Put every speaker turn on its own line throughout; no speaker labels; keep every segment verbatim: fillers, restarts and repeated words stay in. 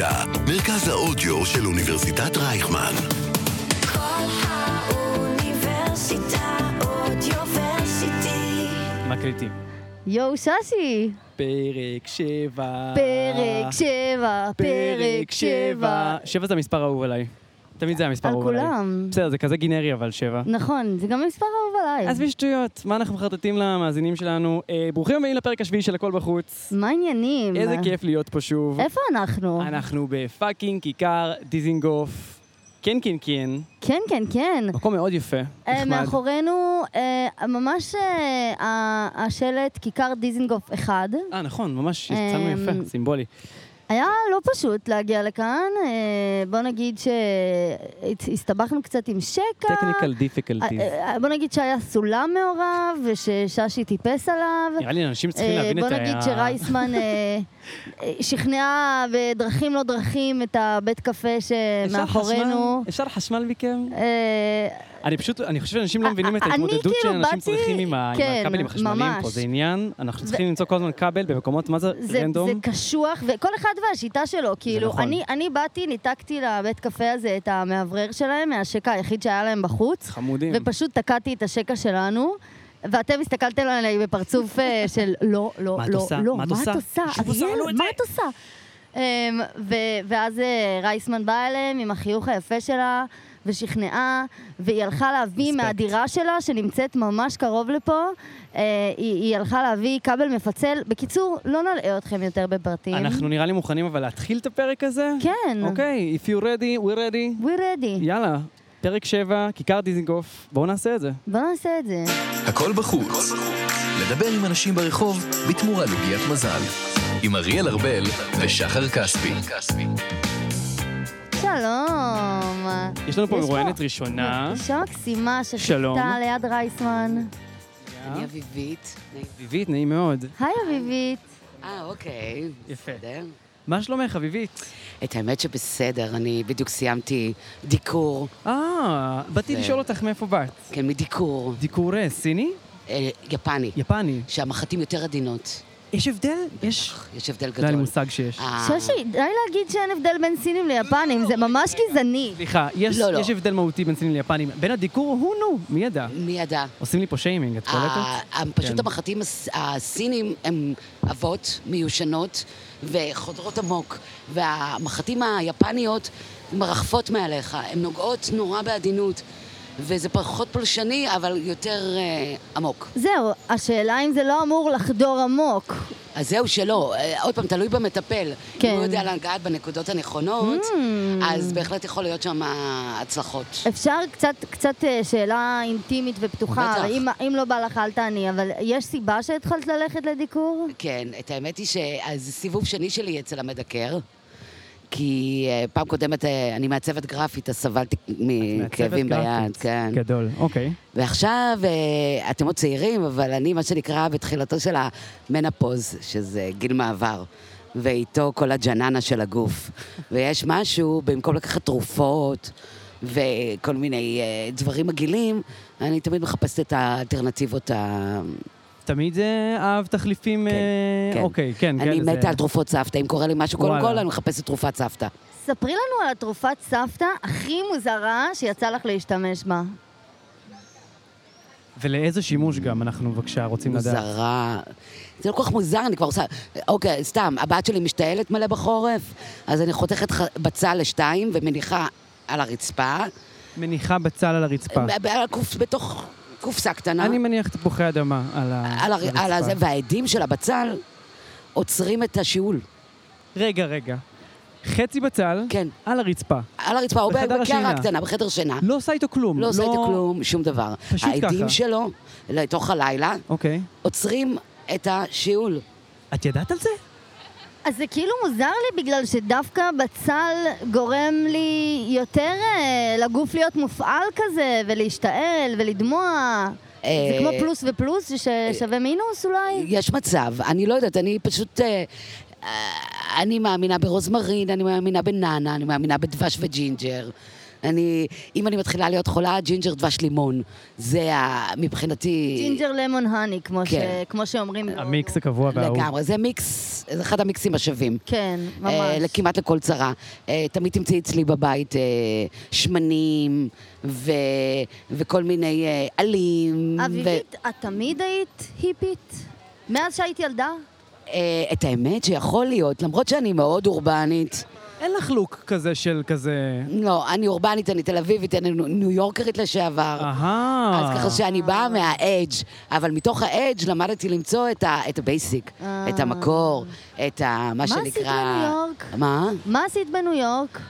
האוניברסיטה, מרכז האודיו של אוניברסיטת רייכמן.
כל האוניברסיטה אודיוורסיטי.
מקליטים.
יואו ששי.
פרק שבע.
פרק שבע. פרק שבע.
שבע זה המספר האהוב עליי. תמיד זה המספר
על
האהוב עליי.
כולם.
בסדר, זה כזה גינרי אבל שבע.
נכון, זה גם מספר אהוב עליי.
אז בשטויות, מה אנחנו מחרטטים למאזינים שלנו? אה, ברוכים הבאים לפרק השביעי של הכל בחוץ.
מה העניינים?
איזה כיף להיות פה שוב.
איפה אנחנו?
אנחנו בפאקינג כיכר דיזינגוף. כן, כן, כן.
כן, כן, כן.
מקום מאוד יפה.
אה,
נחמד.
מאחורינו, אה, ממש אה, ה- השלט כיכר דיזינגוף אחד.
אה, נכון, ממש
אמ,
יצאנו יפה, סימבולי.
היה לא פשוט להגיע לכאן. אה, בוא נגיד שהסתבכנו קצת עם שקע.
technical difficulties.
אה, אה, בוא נגיד שהיה סולם מעורב ושששי טיפס עליו.
נראה לי אנשים צריכים
אה,
להבין את
בוא
ה...
נגיד שרייסמן אה, אה, שכנע בדרכים לא דרכים את הבית קפה שמאחורינו.
אפשר חשמל מכם?
אה,
אני פשוט, אני חושב שאנשים לא מבינים את
אני
ההתמודדות
כאילו
שאנשים
באתי-
צריכים עם ה- עם
כן,
הכבלים החשמליים
ממש.
פה. זה עניין, אנחנו צריכים למצוא כל הזמן כבל במקומות, מה זה
זה,
רנדום?
זה קשוח, וכל אחד והשיטה שלו, כאילו,
נכון.
אני, אני באתי, ניתקתי לבית קפה הזה את המאוורר שלהם, מהשקע היחיד שהיה להם בחוץ,
חמודים.
ופשוט תקעתי את השקע שלנו, ואתם הסתכלתם עליי בפרצוף אה, של לא, לא,
מה את
לא,
עושה?
לא,
מה את
מה
עושה?
את עושה?
שוב עושה לנו
אריאל,
את
מה
זה.
את עושה? אמ, ו- ואז אה, רייסמן באה אליהם עם החיוך היפה שלה, ושכנעה, והיא הלכה להביא
רספקט.
מהדירה שלה, שנמצאת ממש קרוב לפה, אה, היא, היא הלכה להביא כבל מפצל. בקיצור, לא נלאה אתכם יותר בפרטים.
אנחנו נראה לי מוכנים אבל להתחיל את הפרק הזה?
כן.
אוקיי, if you're ready, we're ready.
We ready.
יאללה, פרק שבע, כיכר דיזינגוף, בואו נעשה את זה.
בוא נעשה את זה.
הכל בחוץ. לדבר עם אנשים ברחוב בתמורה לוגיית מזל. עם אריאל ארבל ושחר כספי.
שלום.
יש לנו פה
יש
מרואיינת ראשונה.
אישה מקסימה
שלום.
שחיכתה ליד רייסמן.
אני אביבית. נעים.
אביבית, נעים מאוד.
היי אביבית.
אה, אוקיי.
יפה.
בסדר.
מה שלומך, אביבית?
את האמת שבסדר, אני בדיוק סיימתי דיקור.
אה, באתי
זה-
לשאול אותך מאיפה באת.
כן, מדיקור.
דיקור אה, סיני?
אה, יפני.
יפני.
שהמחטים יותר עדינות.
יש הבדל? יש...
יש הבדל
לא היה לי
גדול.
מושג שיש.
אה,
ששי, די להגיד שאין הבדל בין סינים ליפנים, זה ממש גזעני.
סליחה, יש,
לא, לא.
יש הבדל מהותי בין סינים ליפנים. בין הדיקור הוא נו, מי ידע?
מי ידע?
עושים לי פה שיימינג, את קולטת?
ה- פשוט
כן.
המחטים הס- הסינים הם אבות מיושנות וחודרות עמוק, והמחטים היפניות מרחפות מעליך, הן נוגעות נורא בעדינות, וזה פחות פולשני, אבל יותר אה, עמוק.
זהו, השאלה אם זה לא אמור לחדור עמוק.
אז זהו שלא, אה, עוד פעם, תלוי במטפל.
כן.
אם הוא יודע לגעת בנקודות הנכונות, אז בהחלט יכול להיות שם הצלחות.
אפשר קצת, קצת אה, שאלה אינטימית ופתוחה,
בטח.
אם, אם לא בא לך אל תעני, אבל יש סיבה שהתחלת ללכת לדיקור?
כן, את האמת היא שזה סיבוב שני שלי אצל המדקר, כי אה, פעם קודמת אה, אני מעצבת גרפית, אז סבלתי מכאבים
מעצבת
ביד,
גרפית.
כן.
גדול, אוקיי.
ועכשיו, אה, אתם עוד צעירים, אבל אני, מה שנקרא, בתחילתו של המנפוז, שזה גיל מעבר, ואיתו כל הג'ננה של הגוף. ויש משהו, במקום לקחת תרופות וכל מיני אה, דברים מגעילים, אני תמיד מחפשת את האלטרנטיבות ה...
תמיד אה, אהב תחליפים...
כן,
אה,
כן.
אוקיי, כן,
אני
כן. זה-
מתה על תרופות סבתא, אם קורה לי משהו, קודם
וואלה.
כל אני מחפשת תרופת סבתא.
ספרי לנו על התרופת סבתא הכי מוזרה שיצא לך להשתמש בה.
ולאיזה שימוש גם אנחנו בבקשה רוצים לדעת.
מוזרה. זה לא כל כך מוזר, אני כבר עושה... אוקיי, סתם, הבת שלי משתעלת מלא בחורף, אז אני חותכת ח- בצל לשתיים ומניחה על הרצפה,
מניחה בצל על הרצפה.
ב- על הקוף- בתוך קופסה קטנה,
אני מניח תפוחי אדמה על ה-
על הר- על הזה,
הרצפה.
והעדים של הבצל עוצרים את השיעול.
רגע, רגע. חצי בצל
כן.
על הרצפה.
על הרצפה, או
בחדר השינה.
בקערה קטנה, בחדר שינה.
לא עושה איתו כלום.
לא עושה איתו כלום, שום דבר.
פשוט
העדים
ככה.
שלו, לתוך הלילה,
אוקיי.
עוצרים את השיעול.
את ידעת על זה?
אז זה כאילו מוזר לי בגלל שדווקא בצל גורם לי יותר אה, לגוף להיות מופעל כזה, ולהשתעל ולדמוע. זה
אה,
כמו פלוס ופלוס ששווה מינוס אולי?
יש מצב, אני לא יודעת, אני פשוט... אה, אה, אני מאמינה ברוזמרין, אני מאמינה בננה, אני מאמינה בדבש וג'ינג'ר. אני, אם אני מתחילה להיות חולה, ג'ינג'ר דבש לימון. זה ה, מבחינתי...
ג'ינג'ר למון הני, כמו,
כן.
ש, כמו שאומרים.
המיקס הקבוע והאהוב.
לגמרי, זה מיקס, זה אחד המיקסים השווים.
כן, ממש.
אה, כמעט לכל צרה. אה, תמיד תמצאי אצלי בבית אה, שמנים ו, וכל מיני אה, עלים.
אביבית, ו... את תמיד היית היפית? מאז שהיית ילדה?
אה, את האמת שיכול להיות, למרות שאני מאוד אורבנית.
אין לך לוק כזה של כזה...
לא, אני אורבנית, אני תל אביבית, אני ניו יורקרית לשעבר.
אהה.
אז ככה שאני באה מהאדג', אבל מתוך האדג' למדתי למצוא את הבייסיק, את המקור, את מה שנקרא...
מה עשית בניו יורק?
מה?
מה עשית בניו יורק?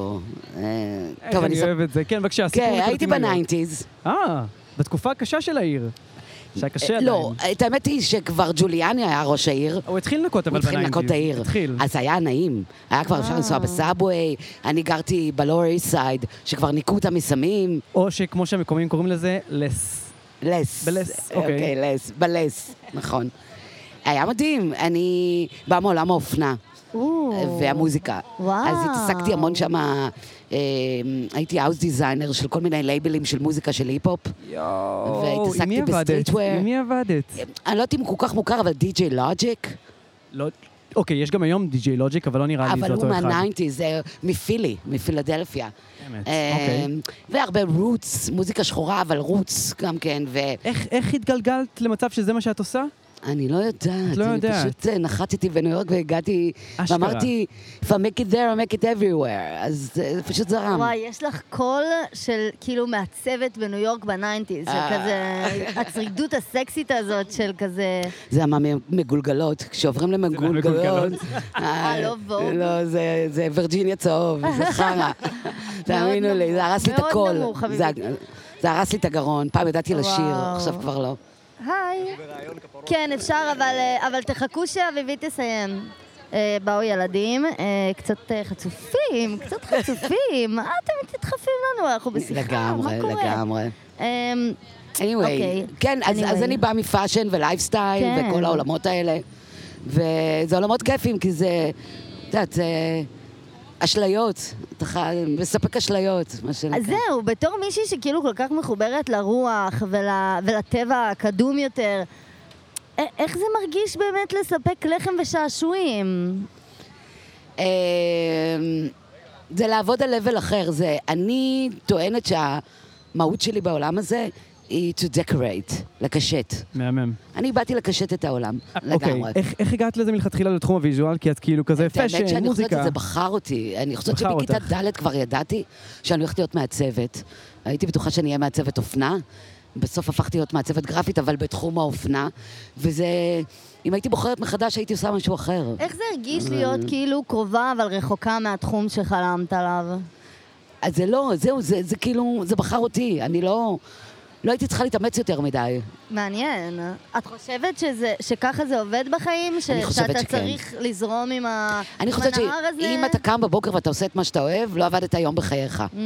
איך אני אוהב את זה? כן, בבקשה, סיפור.
כן, הייתי בניינטיז.
אה, בתקופה הקשה של העיר. שהיה קשה עדיין.
לא, את האמת היא שכבר ג'וליאני היה ראש העיר.
הוא התחיל לנקות, אבל
בניינטיז. הוא התחיל לנקות את העיר.
התחיל.
אז היה נעים. היה כבר אפשר לנסוע בסאבווי, אני גרתי בלואר איסט סייד, שכבר ניקו אותם מסמים.
או שכמו שהמקומיים קוראים לזה, לס.
לס.
בלס,
אוקיי. אוקיי, לס, בלס, נכון. היה מדהים, אני באה מעולם האופנה. והמוזיקה.
וואו.
אז התעסקתי המון שמה, אה, הייתי האוס דיזיינר של כל מיני לייבלים של מוזיקה של היפ-הופ.
יואו, עם מי עבדת? עם מי עבדת?
אני לא יודעת אם הוא כל כך מוכר, אבל די-ג'יי לוג'יק.
לא, אוקיי, יש גם היום די-ג'יי לוג'יק, אבל לא נראה לי זה אותו אחד.
אבל הוא מהניינטיז, זה מפילי, מפילדלפיה.
אמת, אוקיי.
והרבה רוטס, מוזיקה שחורה, אבל רוטס גם כן.
איך התגלגלת למצב שזה מה שאת עושה?
אני לא יודעת,
לא
אני
יודעת.
פשוט נחתתי בניו יורק והגעתי,
אשכרה.
ואמרתי, if I make it there, I make it everywhere, אז זה פשוט זרם.
וואי, יש לך קול של כאילו מעצבת בניו יורק בניינטיז, של כזה, הצרידות הסקסית הזאת של כזה...
זה המגולגלות, כשעוברים למגולגלות.
אה, לא ווג?
לא, זה וירג'יניה צהוב, זה חרא. תאמינו לי, זה הרס לי את הכל.
מאוד נמוך, חביבי.
זה הרס לי את הגרון, פעם ידעתי לשיר, עכשיו כבר לא.
היי. כן, אפשר, אבל, אבל תחכו שאביבית תסיים. אה, באו ילדים, אה, קצת אה, חצופים, קצת חצופים. מה אתם תדחפים לנו? אנחנו בשיחה,
לגמרי,
מה קורה?
לגמרי.
אה,
anyway,
אוקיי.
כן, אז,
anyway.
אז אני באה מפאשן ולייפסטייל
כן.
וכל העולמות האלה. וזה עולמות כיפים, כי זה, את יודעת, זה אשליות, אתה מספק אשליות, מה שנקרא.
אז זהו, בתור מישהי שכאילו כל כך מחוברת לרוח ול, ולטבע הקדום יותר, איך זה מרגיש באמת לספק לחם ושעשועים?
זה לעבוד על level אחר. זה, אני טוענת שהמהות שלי בעולם הזה היא to decorate, לקשט.
מהמם.
אני באתי לקשט את העולם, לגמרי.
אוקיי, איך הגעת לזה מלכתחילה לתחום הוויז'ואל? כי את כאילו כזה פשן, מוזיקה.
האמת שאני חושבת שזה בחר אותי. אני חושבת שבכיתה ד' כבר ידעתי שאני הולכת להיות מעצבת. הייתי בטוחה שאני אהיה מעצבת אופנה. בסוף הפכתי להיות מעצבת גרפית, אבל בתחום האופנה. וזה... אם הייתי בוחרת מחדש, הייתי עושה משהו אחר.
איך זה הרגיש להיות כאילו קרובה, אבל רחוקה מהתחום שחלמת עליו?
אז זה לא, זהו, זה, זה כאילו, זה בחר אותי. אני לא... לא הייתי צריכה להתאמץ יותר מדי.
מעניין. את חושבת שזה, שככה זה עובד בחיים? ש...
אני חושבת
שאתה
שכן.
צריך לזרום עם, ה...
אני
עם
חושבת
הנהר הזה?
שאם אתה קם בבוקר ואתה עושה את מה שאתה אוהב, לא עבדת היום בחייך.
Mm.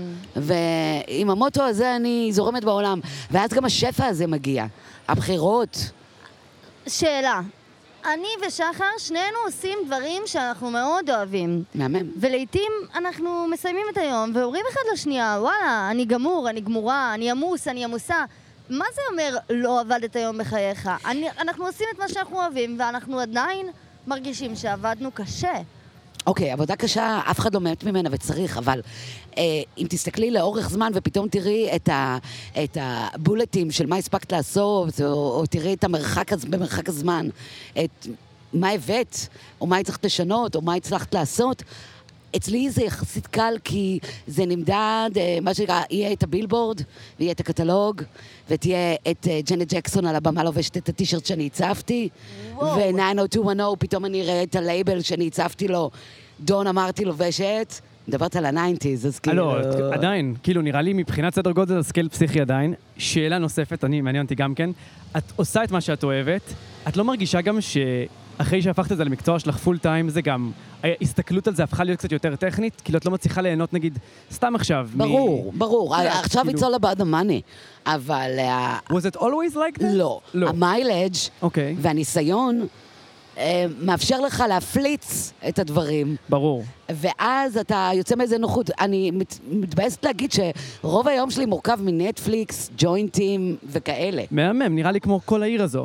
ועם המוטו הזה אני זורמת בעולם. ואז גם השפע הזה מגיע. הבחירות.
שאלה. אני ושחר, שנינו עושים דברים שאנחנו מאוד אוהבים.
מהמם.
ולעיתים אנחנו מסיימים את היום ואומרים אחד לשנייה, וואלה, אני גמור, אני גמורה, אני עמוס, אני עמוסה. מה זה אומר לא עבדת היום בחייך? אני, אנחנו עושים את מה שאנחנו אוהבים ואנחנו עדיין מרגישים שעבדנו קשה.
אוקיי, עבודה קשה, אף אחד לא מת ממנה וצריך, אבל אה, אם תסתכלי לאורך זמן ופתאום תראי את, ה, את הבולטים של מה הספקת לעשות, או, או תראי את המרחק במרחק הזמן, את מה הבאת, או מה הצלחת לשנות, או מה הצלחת לעשות, אצלי זה יחסית קל, כי זה נמדד, מה שנקרא, יהיה את הבילבורד, ויהיה את הקטלוג, ותהיה את ג'נט ג'קסון על הבמה לובשת את הטישרט שאני הצפתי, ו-תשע מאות שתיים מאה, פתאום אני אראה את הלייבל שאני הצפתי לו, דון אמרתי לובשת, מדברת על הניינטיז, אז כאילו...
לא, עדיין, כאילו נראה לי מבחינת סדר גודל זה סקייל פסיכי עדיין. שאלה נוספת, אני מעניין אותי גם כן, את עושה את מה שאת אוהבת, את לא מרגישה גם ש... אחרי שהפכת את זה למקצוע שלך פול טיים, זה גם, ההסתכלות על זה הפכה להיות קצת יותר טכנית, כאילו את לא מצליחה ליהנות נגיד, סתם עכשיו.
ברור, ברור, עכשיו it's all about the money, אבל...
Was it always like that?
לא, המיילג' והניסיון אה, מאפשר לך להפליץ את הדברים.
ברור.
ואז אתה יוצא מאיזה נוחות. אני מת, מתבאסת להגיד שרוב היום שלי מורכב מנטפליקס, ג'וינטים וכאלה.
מהמם, נראה לי כמו כל העיר הזו.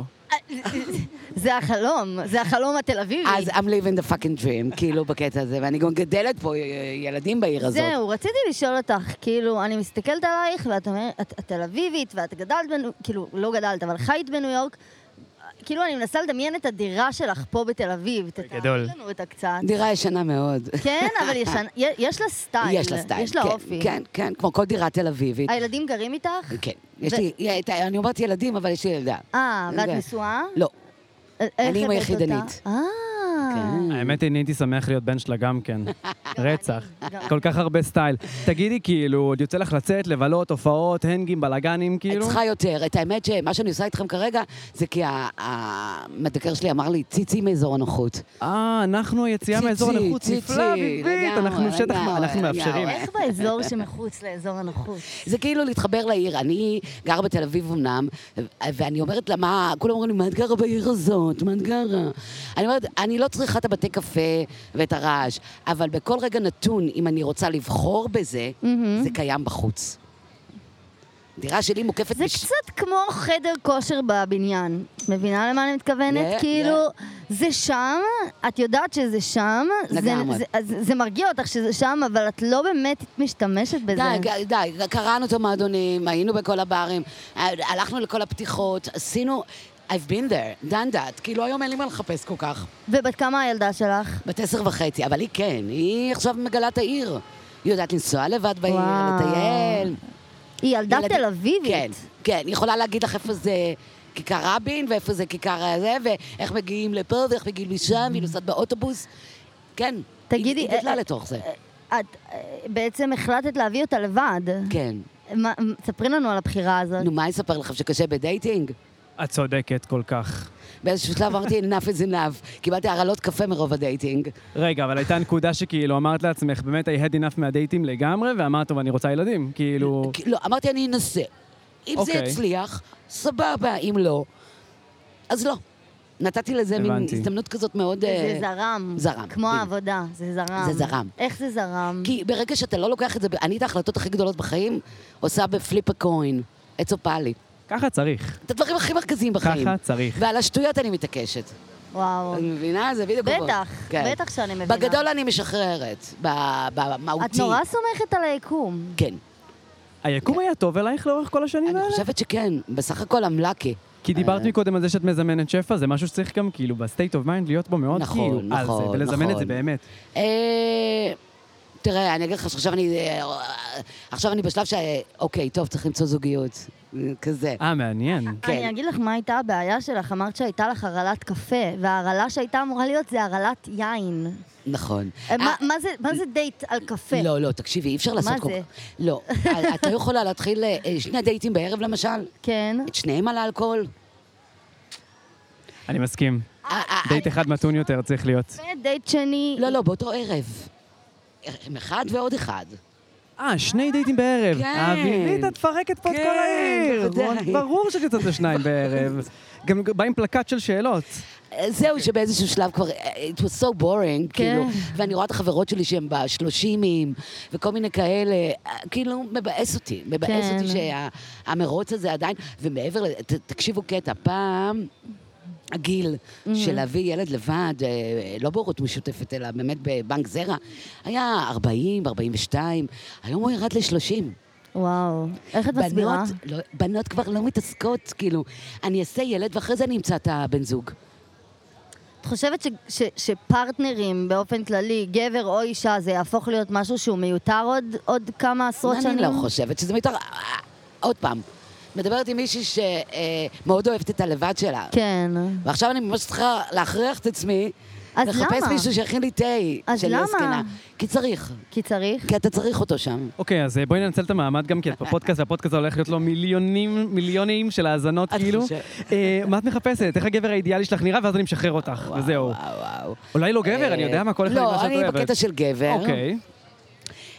זה החלום, זה החלום התל אביבי.
אז I'm living the fucking dream, כאילו בקטע הזה, ואני גם גדלת פה ילדים בעיר הזאת.
זהו, רציתי לשאול אותך, כאילו, אני מסתכלת עלייך, ואת אומרת, את את תל אביבית, ואת גדלת, בניו- כאילו, לא גדלת, אבל חיית בניו יורק, כאילו, אני מנסה לדמיין את הדירה שלך פה בתל אביב.
גדול.
תתארי לנו אותה קצת.
דירה ישנה מאוד.
כן, אבל ישן- יש לה סטייל.
יש לה סטייל,
יש לה
כן,
אופי.
כן, כן, כמו כל דירה תל אביבית.
הילדים גרים איתך?
כן, יש
ו-
לי, אני אומרת ילדים, אבל יש לי ילדה.
אה, ואת
זה-
נשואה?
לא,
איך
אני אמא
הבאת
יחידנית.
אותה? אה.
כן.
האמת היא, אני הייתי שמח להיות בן שלה גם כן. רצח.
גם.
כל כך הרבה סטייל. תגידי, כאילו, עוד יוצא לך לצאת, לבלות, הופעות, הנגים, בלאגנים,
את
כאילו?
צריכה יותר. את האמת שמה שאני עושה איתכם כרגע, זה כי ה- המדקר שלי אמר לי, ציצי מאזור הנוחות.
אה, אנחנו היציאה מאזור
ציצי,
הנוחות.
ציצי,
נפלא, ביבית,
לגמרי,
אנחנו שטח,
לגמרי,
אנחנו מאפשרים.
לגמרי.
איך באזור שמחוץ לאזור הנוחות?
זה כאילו להתחבר לעיר. אני גרה בתל אביב אמנם, ואני אומרת לה, מה, כולם אומרים לי, מה את גרה בעיר הזאת? מה את גרה? אני אומרת, אני לא צריכה את הבתי קפה ואת הרעש, אבל בכל רגע נתון, אם אני רוצה לבחור בזה, זה קיים בחוץ. דירה שלי מוקפת...
זה
בש-
קצת כמו חדר כושר בבניין. את מבינה למה אני מתכוונת?
Yeah,
כאילו, זה שם, את יודעת שזה שם, זה-
לגמרי.
זה- אז זה מרגיע אותך שזה שם, אבל את לא באמת משתמשת בזה.
די, די, קראנו את המועדונים, היינו בכל הברים, הלכנו לכל הפתיחות, עשינו... I've been there, done that, כאילו היום אין לי מה לחפש כל כך.
ובת כמה הילדה שלך?
בת עשר וחצי, אבל היא כן, היא עכשיו מגלה את העיר. היא יודעת לנסוע לבד בעיר,
וואו.
לטייל.
היא ילדה
ילדים-
תל אביבית.
כן, כן, היא יכולה להגיד לך איפה זה כיכר רבין, ואיפה זה כיכר זה, ואיך מגיעים לפה, ואיך מגיעים לשם, והיא נוסעת באוטובוס. כן,
תגידי,
היא גדלה
אה,
לתוך זה.
את אה, בעצם החלטת להביא אותה לבד.
כן.
מה- ספרי לנו על הבחירה הזאת.
נו, מה אני אספר לכם, שקשה בדייטינג?
את צודקת כל כך.
באיזשהו שלב אמרתי, enough is enough. קיבלתי הרעלות קפה מרוב הדייטינג.
רגע, אבל הייתה נקודה שכאילו אמרת לעצמך, באמת, I had enough מהדייטים לגמרי, ואמרת, טוב, אני רוצה ילדים. כאילו...
כי- לא, אמרתי, אני אנסה. אם זה
אוקיי.
יצליח, סבבה, אם לא, אז לא. נתתי לזה מין
הבנתי.
הזדמנות כזאת מאוד...
זה
אה,
זרם.
זרם,
כמו
בדיוק.
העבודה, זה זרם.
זה זרם.
איך זה זרם?
כי ברגע שאתה לא לוקח את זה, אני את ההחלטות הכי גדולות בחיים עושה בפליפ הקוין, עץ אופלי.
ככה צריך.
את הדברים הכי מרכזיים בחיים.
ככה צריך.
ועל השטויות אני מתעקשת.
וואו.
את מבינה? זה בדיוק... עובד.
בטח,
כן.
בטח שאני מבינה.
בגדול אני משחררת, ב- במהותי.
את נורא סומכת על היקום.
כן.
היקום היה טוב אלייך לאורך כל השנים
אני
האלה?
חושבת שכן, בסך הכל אמלקי.
כי דיברת מקודם על זה שאת מזמנת שפע, זה משהו שצריך גם כאילו בסטייט אוף מיינד להיות בו מאוד
נכון,
כאילו על זה,
נכון,
ולזמן את זה
נכון.
באמת.
אה, תראה, אני אגיד לך שעכשיו אני... אה, עכשיו אני בשלב ש... אוקיי, טוב, צריך למצוא זוגיות. כזה.
אה, מעניין.
כן.
אני אגיד לך מה הייתה הבעיה שלך, אמרת שהייתה לך הרעלת קפה, וההרעלה שהייתה אמורה להיות זה הרעלת יין.
נכון.
אה, מה-
אה,
מה זה- מה זה דייט על קפה?
לא, לא, תקשיבי, אי אפשר לעשות...
מה
כל-
זה?
לא. את לא יכולה להתחיל אה, שני דייטים בערב, למשל?
כן.
את שניהם על האלכוהול?
אני מסכים.
אה, אה,
דייט אחד מתון יותר צריך להיות.
ודייט שני...
לא, לא, באותו ערב. עם אחד ועוד אחד.
אה, שני דייטים בערב.
כן.
האווילית, את מפרקת פה את
כן,
כל העיר.
בוודאי.
ברור שאת יוצאת לשניים בערב. גם בא עם פלקט של שאלות.
זהו, שבאיזשהו שלב כבר, it was so boring, כאילו,
כן.
ואני רואה את החברות שלי שהן בשלושימים, וכל מיני כאלה, כאילו, מבאס אותי, מבאס
כן.
אותי שהמרוץ הזה עדיין, ומעבר לזה, ת- תקשיבו קטע, פעם... הגיל של להביא ילד לבד, אה, לא בהורות משותפת, אלא באמת בבנק זרע, היה ארבעים, ארבעים ושתיים, היום הוא ירד ל-שלושים.
וואו. איך את מסבירה?
בנות, לא, בנות כבר לא מתעסקות, כאילו, אני אעשה ילד ואחרי זה אני אמצא את הבן זוג.
את חושבת ש- ש- שפרטנרים באופן כללי, גבר או אישה, זה יהפוך להיות משהו שהוא מיותר עוד, עוד כמה עשרות שנים?
אני לא חושבת שזה מיותר. עוד פעם, מדברת עם מישהי שמאוד אוהבת את הלבד שלה.
כן.
ועכשיו אני ממש צריכה להכריח את עצמי,
אז
לחפש
למה?
מישהו שיכין לי תה
אז
של
למה?
זקנה. כי צריך,
כי צריך?
כי אתה צריך אותו שם.
אוקיי, אז בואי ננצל את המעמד גם כי את בפודקאסט, והפודקאסט הולך להיות לו מיליונים, מיליונים של האזנות,
את
כאילו.
חושבת?
אה, מה את מחפשת? איך הגבר האידיאלי שלך נראה, ואז אני משחרר אותך, וזהו.
וואו, וואו.
אולי לא גבר, אני יודע מה, כל אחד עם מה
לא,
שאת
אני
אוהבת.
בקטע של גבר.
אוקיי.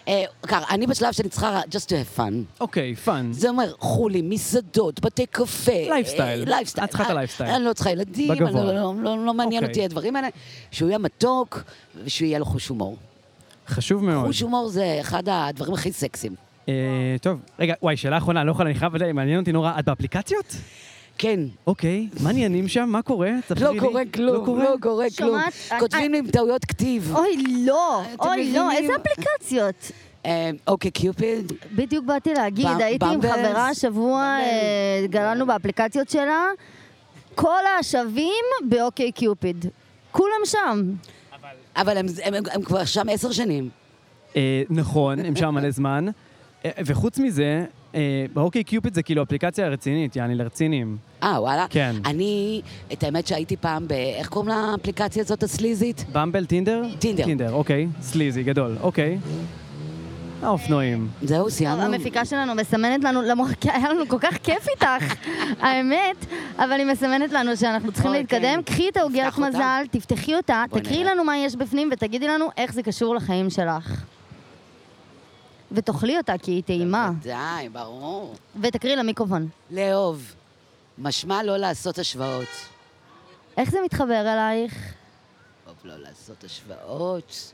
אה, ככה, אני בשלב שאני צריכה just to have fun.
אוקיי, פאן.
זה אומר, חולי, מסעדות, בתי קפה.
לייפסטייל.
אה, לייפסטייל.
את צריכה את הלייפסטייל.
אני לא צריכה ילדים, אני
בגבוה.
לא- לא- לא לא מעניין
אוקיי.
אותי הדברים האלה. שהוא יהיה מתוק, ושהוא יהיה לו חוש הומור.
חשוב מאוד.
חוש הומור זה אחד הדברים הכי סקסיים.
אה, טוב, רגע, וואי, שאלה אחרונה, לא יכולה, אני חייב, מעניין אותי נורא, את באפליקציות?
כן.
אוקיי, מה עניינים שם? מה קורה? ספרי
לא
לי.
קורה כלום, לא קורה כלום.
שומעת?
כותבים לי עם טעויות כתיב.
אוי, לא,
אתם
אוי, לא,
מבינים?
איזה אפליקציות?
אה, אוקיי, קיופיד.
בדיוק באתי להגיד,
במ-
הייתי עם
במבלס?
חברה השבוע, אה, גללנו באפליקציות שלה, כל השווים באוקיי קיופיד. כולם שם.
אבל הם- הם הם כבר שם עשר שנים.
אה, נכון, הם שם מלא זמן. אה, וחוץ מזה, אה, באוקיי קיופיד זה כאילו אפליקציה רצינית, יעני לרצינים.
אה, וואלה?
כן.
אני, את האמת שהייתי פעם ב... איך קוראים לאפליקציה הזאת הסליזית?
במבל, טינדר?
טינדר.
טינדר, אוקיי. סליזי, גדול, אוקיי. האופנועים.
זהו, סיימנו.
המפיקה שלנו מסמנת לנו, למרות כי היה לנו כל כך כיף איתך, האמת, אבל היא מסמנת לנו שאנחנו צריכים
אוקיי.
להתקדם. קחי את העוגיית
נפתח אותה.
מזל, תפתחי אותה,
בואי
תקריאי
נראה.
לנו מה יש בפנים ותגידי לנו איך זה קשור לחיים שלך. ותאכלי אותה כי היא טעימה,
די, ברור.
ותקריאי למיקרופון.
לאהוב. משמע לא לעשות השוואות.
איך זה מתחבר אלייך?
טוב, לא לעשות השוואות.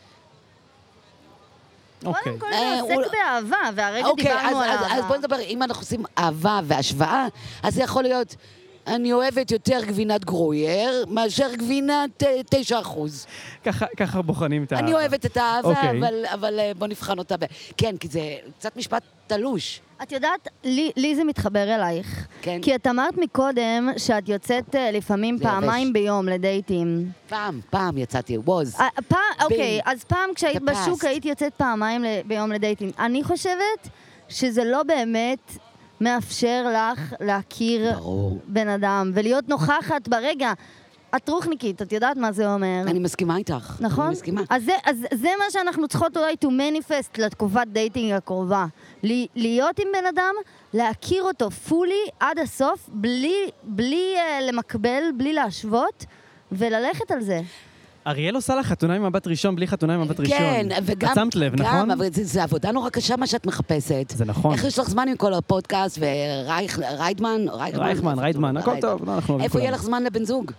אוקיי.
קודם כל
אה,
זה
הוא-
עוסק באהבה, והרגע
אוקיי,
דיברנו
אז-
על
אז- אז
אהבה.
בוא נדבר, אם אנחנו עושים אהבה והשוואה, אז זה יכול להיות, אני אוהבת יותר גבינת גרויר מאשר גבינת אה, תשע אחוז.
ככה- ככה בוחנים את ה...
אני אוהבת את האהבה,
אוקיי.
אבל- אבל אה, בוא נבחן אותה. ב- כן, כי זה קצת משפט תלוש.
את יודעת, לי, לי זה מתחבר אלייך.
כן.
כי את אמרת מקודם שאת יוצאת אה, לפעמים
זה
פעמיים
יבש.
ביום לדייטים.
פעם, פעם יצאתי, ווז.
אה, פעם, אוקיי, אז פעם כשהיית
the past.
בשוק היית יוצאת פעמיים ל- ביום לדייטים. אני חושבת שזה לא באמת מאפשר לך להכיר
ברור.
בן אדם ולהיות נוכחת ברגע. את רוחניקית, את יודעת מה זה אומר.
אני מסכימה איתך.
נכון?
אני מסכימה.
אז זה, אז זה מה שאנחנו צריכות אולי to manifest לתקופת דייטינג הקרובה. ל- להיות עם בן אדם, להכיר אותו פולי עד הסוף, בלי, בלי uh, למקבל, בלי להשוות, וללכת על זה.
אריאל עושה לך חתונה עם מבט ראשון בלי חתונה עם מבט ראשון.
כן, וגם...
את שמת לב,
גם,
נכון?
אבל זה, זה עבודה נורא קשה מה שאת מחפשת.
זה נכון.
איך יש לך זמן עם כל הפודקאסט וריידמן?
רייכמן, ריידמן, הכל טוב, לא, אנחנו אוהבים
איפה יהיה
כולם.
לך זמן לבן זוג?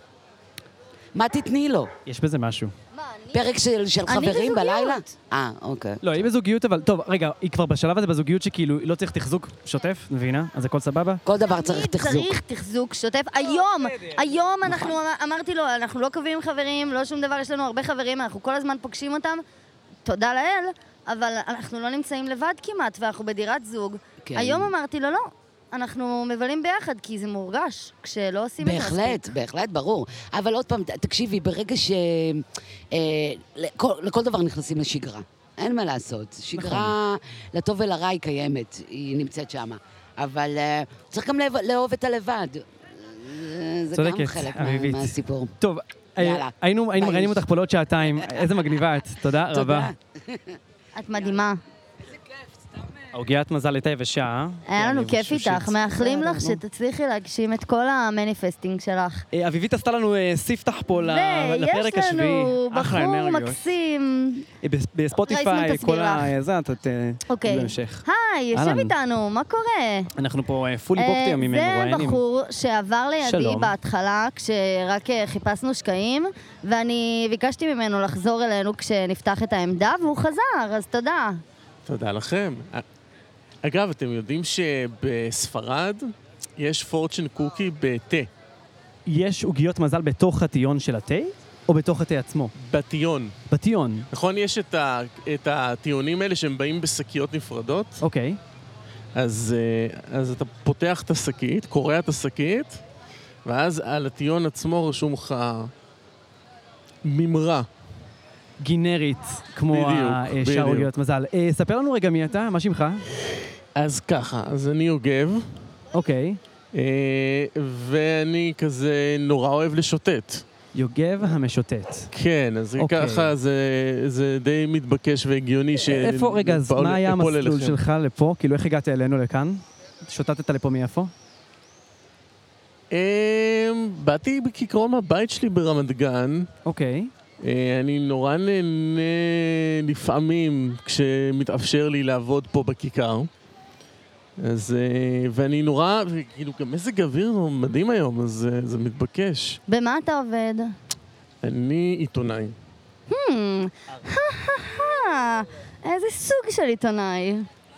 מה תתני לו?
יש בזה משהו.
מה, אני...
פרק של, של
אני
חברים
בזוגיות.
בלילה? אה, אוקיי.
לא, היא בזוגיות, אבל... טוב, רגע, היא כבר בשלב הזה בזוגיות שכאילו לא צריך תחזוק שוטף, מבינה? אז הכל סבבה?
כל דבר צריך
תמיד
תחזוק.
צריך תחזוק שוטף. היום, היום אנחנו, אמרתי לו, אנחנו לא קובעים חברים, לא שום דבר, יש לנו הרבה חברים, אנחנו כל הזמן פוגשים אותם, תודה לאל, אבל אנחנו לא נמצאים לבד כמעט, ואנחנו בדירת זוג.
כן.
היום אמרתי לו, לא, אנחנו מבלים ביחד, כי זה מורגש, כשלא עושים את זה מספיק.
בהחלט, בהחלט, ברור. אבל עוד פעם, ת- תקשיבי, ברגע ש... אה, לכל, לכל דבר נכנסים לשגרה. אין מה לעשות. שגרה, לטוב ולרע היא קיימת, היא נמצאת שם. אבל אה, צריך גם לאהוב- לאהוב את הלבד. אה, זה גם
צודקת,
חלק מה-
אביבית.
מהסיפור.
טוב, אה,
יאללה.
היינו היינו
ביי.
מראיינים אותך פה לעוד שעתיים, איזה מגניבה את, תודה רבה.
את מדהימה.
העוגיית מזל הייתה יבשה.
היה לנו
אני
כיף
חושב
איתך,
ש-
מאחלים
בסדר,
לך
נו.
שתצליחי להגשים את כל המניפסטינג שלך.
אה, אביבית עשתה לנו אה, ספתח פה ל- לפרק
ויש
השביעי.
לנו
אחלה
בחור
אנרגיות.
מקסים.
אה, בס- בספוטיפיי,
רייסמן תסביר
כל ה...
לך.
זה, את... את, אה,
אוקיי.
בהמשך.
היי, יושב
אהלן.
איתנו, מה קורה?
אנחנו פה פולי בוקטי
אה,
ימים
זה
מרואיינים.
בחור שעבר לידי
שלום.
בהתחלה, כשרק אה, חיפשנו שקעים, ואני ביקשתי ממנו לחזור אלינו כשנפתח את העמדה, והוא חזר, אז תודה.
תודה לכם. אגב, אתם יודעים שבספרד יש פורצ'ן קוקי בתה,
יש עוגיות מזל בתוך הטיון של התה, או בתוך התה עצמו?
בטיון.
בטיון,
נכון? יש את, ה, את הטיונים האלה שהם באים בשקיות נפרדות,
אוקיי.
אז, אה, אז אתה פותח את השקית, קורע את השקית, ואז על הטיון עצמו רשום לך ממרה.
גינרית, כמו
בדיוק,
השאר
בדיוק.
עוגיות מזל. אה, ספר לנו רגע מי אתה, מה שמך?
אז ככה, אז אני יוגב,
אוקיי.
אה, ואני כזה נורא אוהב לשוטט.
יוגב המשוטט.
כן, אז
אוקיי.
ככה זה, זה די מתבקש והגיוני ש...
איפה, רגע, אז
פעול-
מה היה
אפול
המסלול
אליכם.
שלך לפה? כאילו, איך הגעת אלינו לכאן? שוטטת לפה מאיפה?
אמ, באתי כעיקרון מהבית שלי ברמת גן,
אוקיי.
אני נורא נהנה לפעמים כשמתאפשר לי לעבוד פה בכיכר. אז, ואני נורא, כאילו גם מזג אוויר מדהים היום, אז זה מתבקש.
במה אתה עובד?
אני עיתונאי.
Hmm, איזה סוג של עיתונאי?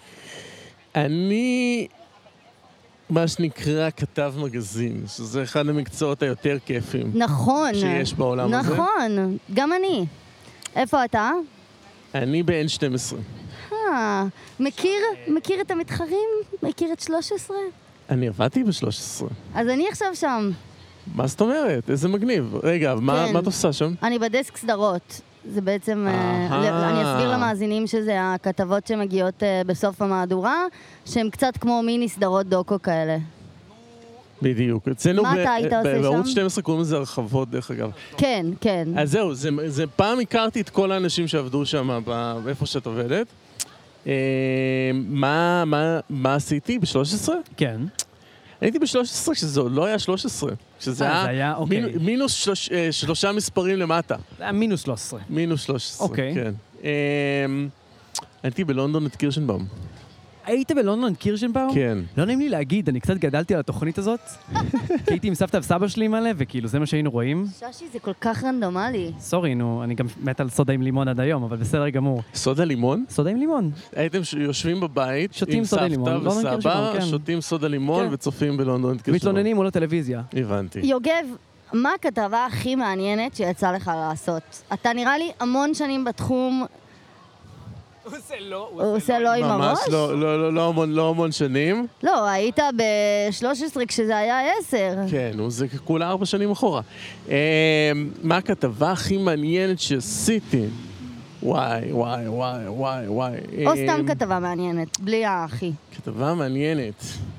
אני, מה שנקרא, כתב מגזין, שזה אחד המקצועות היותר כיפים.
נכון.
שיש בעולם הזה.
נכון, גם אני. איפה אתה?
אני ב-אן שתים עשרה.
אה, מכיר, מכיר את המתחרים? מכיר את שלוש עשרה?
אני עבדתי ב-שלוש עשרה.
אז אני עכשיו שם.
מה זאת אומרת? איזה מגניב. רגע, מה, מה את עושה שם?
אני בדסק סדרות. זה בעצם, אה, אני אסביר למאזינים שזה הכתבות שמגיעות אה, בסוף המהדורה, שהן קצת כמו מיני סדרות דוקו כאלה.
בדיוק. אצלנו
מה אתה היית עושה שם?
בערוץ שתים עשרה קוראים לזה הרחבות, דרך אגב.
כן, כן.
אז זהו, זה, זה פעם הכרתי את כל האנשים שעבדו שם, באיפה שאת עובדת. אה, מה, מה, מה עשיתי? ב-שלוש עשרה?
כן.
הייתי ב-שלוש עשרה כשזה עוד לא היה שלוש עשרה. כשזה היה,
היה אוקיי.
מינוס, מינוס שלוש, אה, שלושה מספרים למטה.
זה היה מינוס שלוש עשרה.
מינוס שלוש עשרה,
אוקיי.
כן. אה, הייתי בלונדון את קירשנבאום.
היית בלונדון קירשנבאום?
כן.
לא נעים לי להגיד, אני קצת גדלתי על התוכנית הזאת. כי הייתי עם סבתא וסבא שלי מלא, וכאילו זה מה שהיינו רואים.
ששי, זה כל כך רנדומלי.
סורי, נו, אני גם מת על סודה עם לימון עד היום, אבל בסדר גמור.
סודה לימון?
סודה עם לימון.
הייתם יושבים בבית
שותים
עם
סודה לימון,
סבתא
לונדון
וסבא,
קירשנבאום, כן.
שותים סודה לימון
כן.
וצופים בלונדון את קירשנבאום.
מתלוננים מול הטלוויזיה.
הבנתי.
יוגב, מה הכתבה הכי מעניינת שיצא לך לעשות? אתה נראה לי המון שנים בתחום.
הוא עושה לא,
הוא עושה לא עם הראש?
ממש לא, לא, לא, לא המון, לא המון שנים.
לא, היית ב-שלוש עשרה כשזה היה עשר.
כן, זה כולה ארבע שנים אחורה. מה הכתבה הכי מעניינת שעשיתי? וואי, וואי, וואי, וואי, וואי.
או סתם כתבה מעניינת, בלי האחי.
כתבה מעניינת.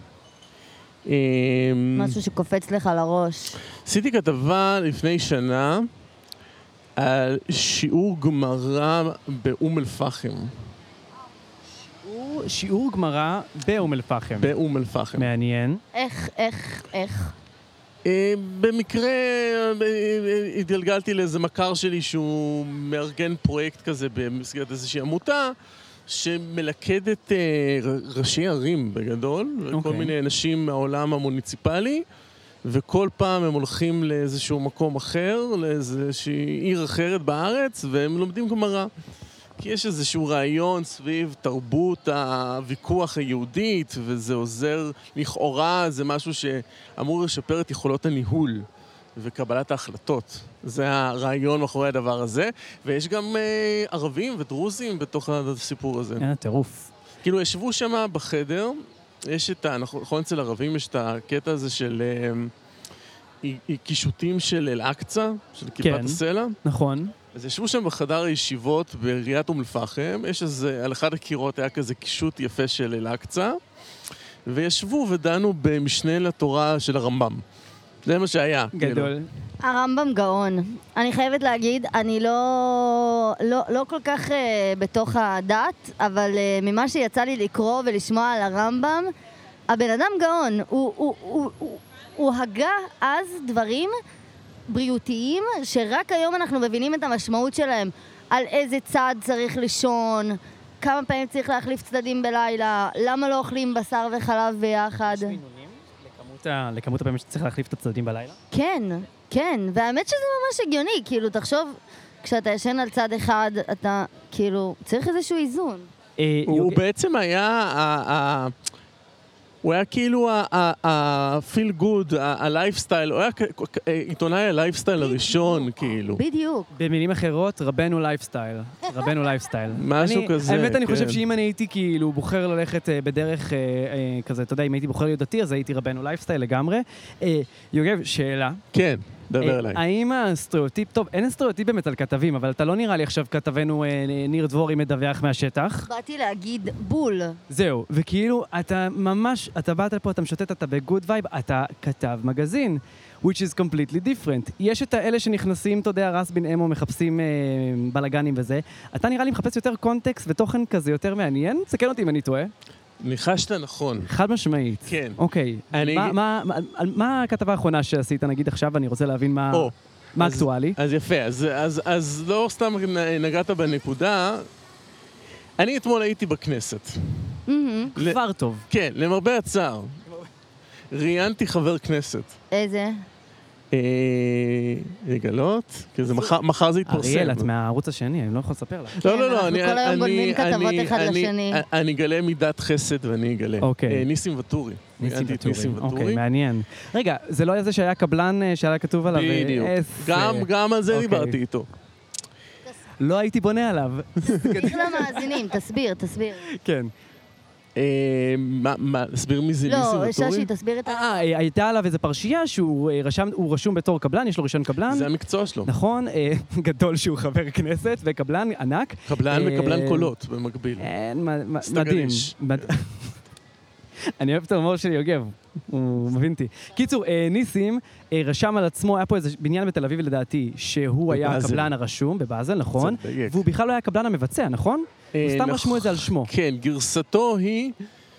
משהו שקופץ לך לראש.
עשיתי כתבה לפני שנה על שיעור גמרא באום אל-פחם.
שיעור, שיעור גמרא באום אל-פחם.
באום אל-פחם.
מעניין.
איך, איך, איך?
במקרה התגלגלתי לאיזה מכר שלי שהוא מארגן פרויקט כזה במסגרת איזושהי עמותה שמלכדת ראשי ערים בגדול, וכל מיני אנשים מהעולם המוניציפלי, וכל פעם הם הולכים לאיזשהו מקום אחר, לאיזושהי עיר אחרת בארץ, והם לומדים גמרא. כי יש איזשהו רעיון סביב תרבות הוויכוח היהודית, וזה עוזר, לכאורה זה משהו שאמור לשפר את יכולות הניהול וקבלת ההחלטות. זה הרעיון מאחורי הדבר הזה, ויש גם אה, ערבים ודרוזים בתוך הסיפור הזה.
כן, טירוף.
כאילו, ישבו שם בחדר, יש את ה... נכון, אצל ערבים יש את הקטע הזה של אה, קישוטים של אל-אקצה, של כיפת
כן,
הסלע.
נכון.
אז ישבו שם בחדר הישיבות בעיריית אום אל-פחם, יש איזה, על אחד הקירות היה כזה קישוט יפה של אל-אקצה, וישבו ודנו במשנה לתורה של הרמב"ם. זה מה שהיה.
גדול.
הרמב"ם גאון. אני חייבת להגיד, אני לא, לא, לא כל כך uh, בתוך הדת, אבל uh, ממה שיצא לי לקרוא ולשמוע על הרמב"ם, הבן אדם גאון. הוא, הוא, הוא, הוא, הוא הגה אז דברים בריאותיים, שרק היום אנחנו מבינים את המשמעות שלהם, על איזה צד צריך לישון, כמה פעמים צריך להחליף צדדים בלילה, למה לא אוכלים בשר וחלב ביחד.
יש מינונים לכמות, ה... לכמות הפעמים שצריך להחליף את הצדדים בלילה?
כן, כן, והאמת שזה ממש הגיוני, כאילו, תחשוב, כשאתה ישן על צד אחד, אתה, כאילו, צריך איזשהו איזון.
הוא בעצם היה... הוא היה כאילו ה-feel good, ה-lifestyle, הוא היה עיתונאי ה-lifestyle הראשון, כאילו.
בדיוק.
במילים אחרות, רבנו לייפסטייל. רבנו לייפסטייל.
משהו כזה, כן.
האמת, אני חושב שאם אני הייתי כאילו בוחר ללכת בדרך כזה, אתה יודע, אם הייתי בוחר להיות דתי, אז הייתי רבנו לייפסטייל לגמרי. יוגב, שאלה.
כן. דבר אליי.
האם הסטריאוטיפ, טוב, אין סטריאוטיפ באמת על כתבים, אבל אתה לא נראה לי עכשיו כתבנו ניר דבורי מדווח מהשטח.
באתי להגיד בול.
זהו, וכאילו, אתה ממש, אתה באת לפה, אתה משוטט, אתה בגוד וייב, אתה כתב מגזין, which is completely different. יש את האלה שנכנסים, אתה יודע, רס בין אמו, מחפשים אה, בלגנים וזה. אתה נראה לי מחפש יותר קונטקסט ותוכן כזה יותר מעניין? סכן אותי אם אני טועה.
ניחשת נכון.
חד משמעית.
כן.
אוקיי.
אני...
מה, מה, מה, מה הכתבה האחרונה שעשית, נגיד עכשיו, אני רוצה להבין מה...
או,
מה אקטואלי?
אז יפה, אז, אז, אז לא סתם נגעת בנקודה. אני אתמול הייתי בכנסת.
כבר טוב.
כן, למרבה הצער. ראיינתי חבר כנסת.
איזה?
לגלות? כי זה מחר זה יתפרסם.
אריאל, את מהערוץ השני, אני לא יכול לספר לך.
לא, לא, לא,
אנחנו כל היום גונבים כתבות אחד
אני-
לשני.
אני אגלה מידת חסד ואני אגלה.
אוקיי.
אה, ניסים וטורי.
ניסים
ראיינתי את
וטורי.
ניסים
אוקיי,
וטורי.
מעניין. רגע, זה לא היה זה שהיה קבלן אה, שהיה כתוב עליו? אה,
בדיוק.
איזה-
גם- גם על זה
אוקיי.
דיברתי איתו.
לא הייתי בונה עליו.
תסביר למאזינים, תסביר, תסביר.
כן.
אה, מה, מה, להסביר מי זה ניסים
לא,
וטורי?
ששי, תסביר את ה...
אה, אה, הייתה עליו איזו פרשייה שהוא אה, רשם, הוא רשום בתור קבלן, יש לו רישיון קבלן.
זה המקצוע שלו.
נכון, אה, גדול שהוא חבר כנסת וקבלן ענק.
קבלן
אה,
וקבלן קולות במקביל.
אין, מה- מה-
סטגניש.
מדהים. מד- אני אוהב את ההומור של יוגב, הוא מבין אותי. קיצור, אה, ניסים אה, רשם על עצמו, היה פה איזה בניין בתל אביב לדעתי, שהוא היה
בבאזל.
הקבלן הרשום, בבאזל, נכון?
צריך לדייק.
והוא בכלל לא היה הקבלן המבצע, נכון?
אה,
סתם
נכ-
רשמו את זה על שמו.
כן, גרסתו היא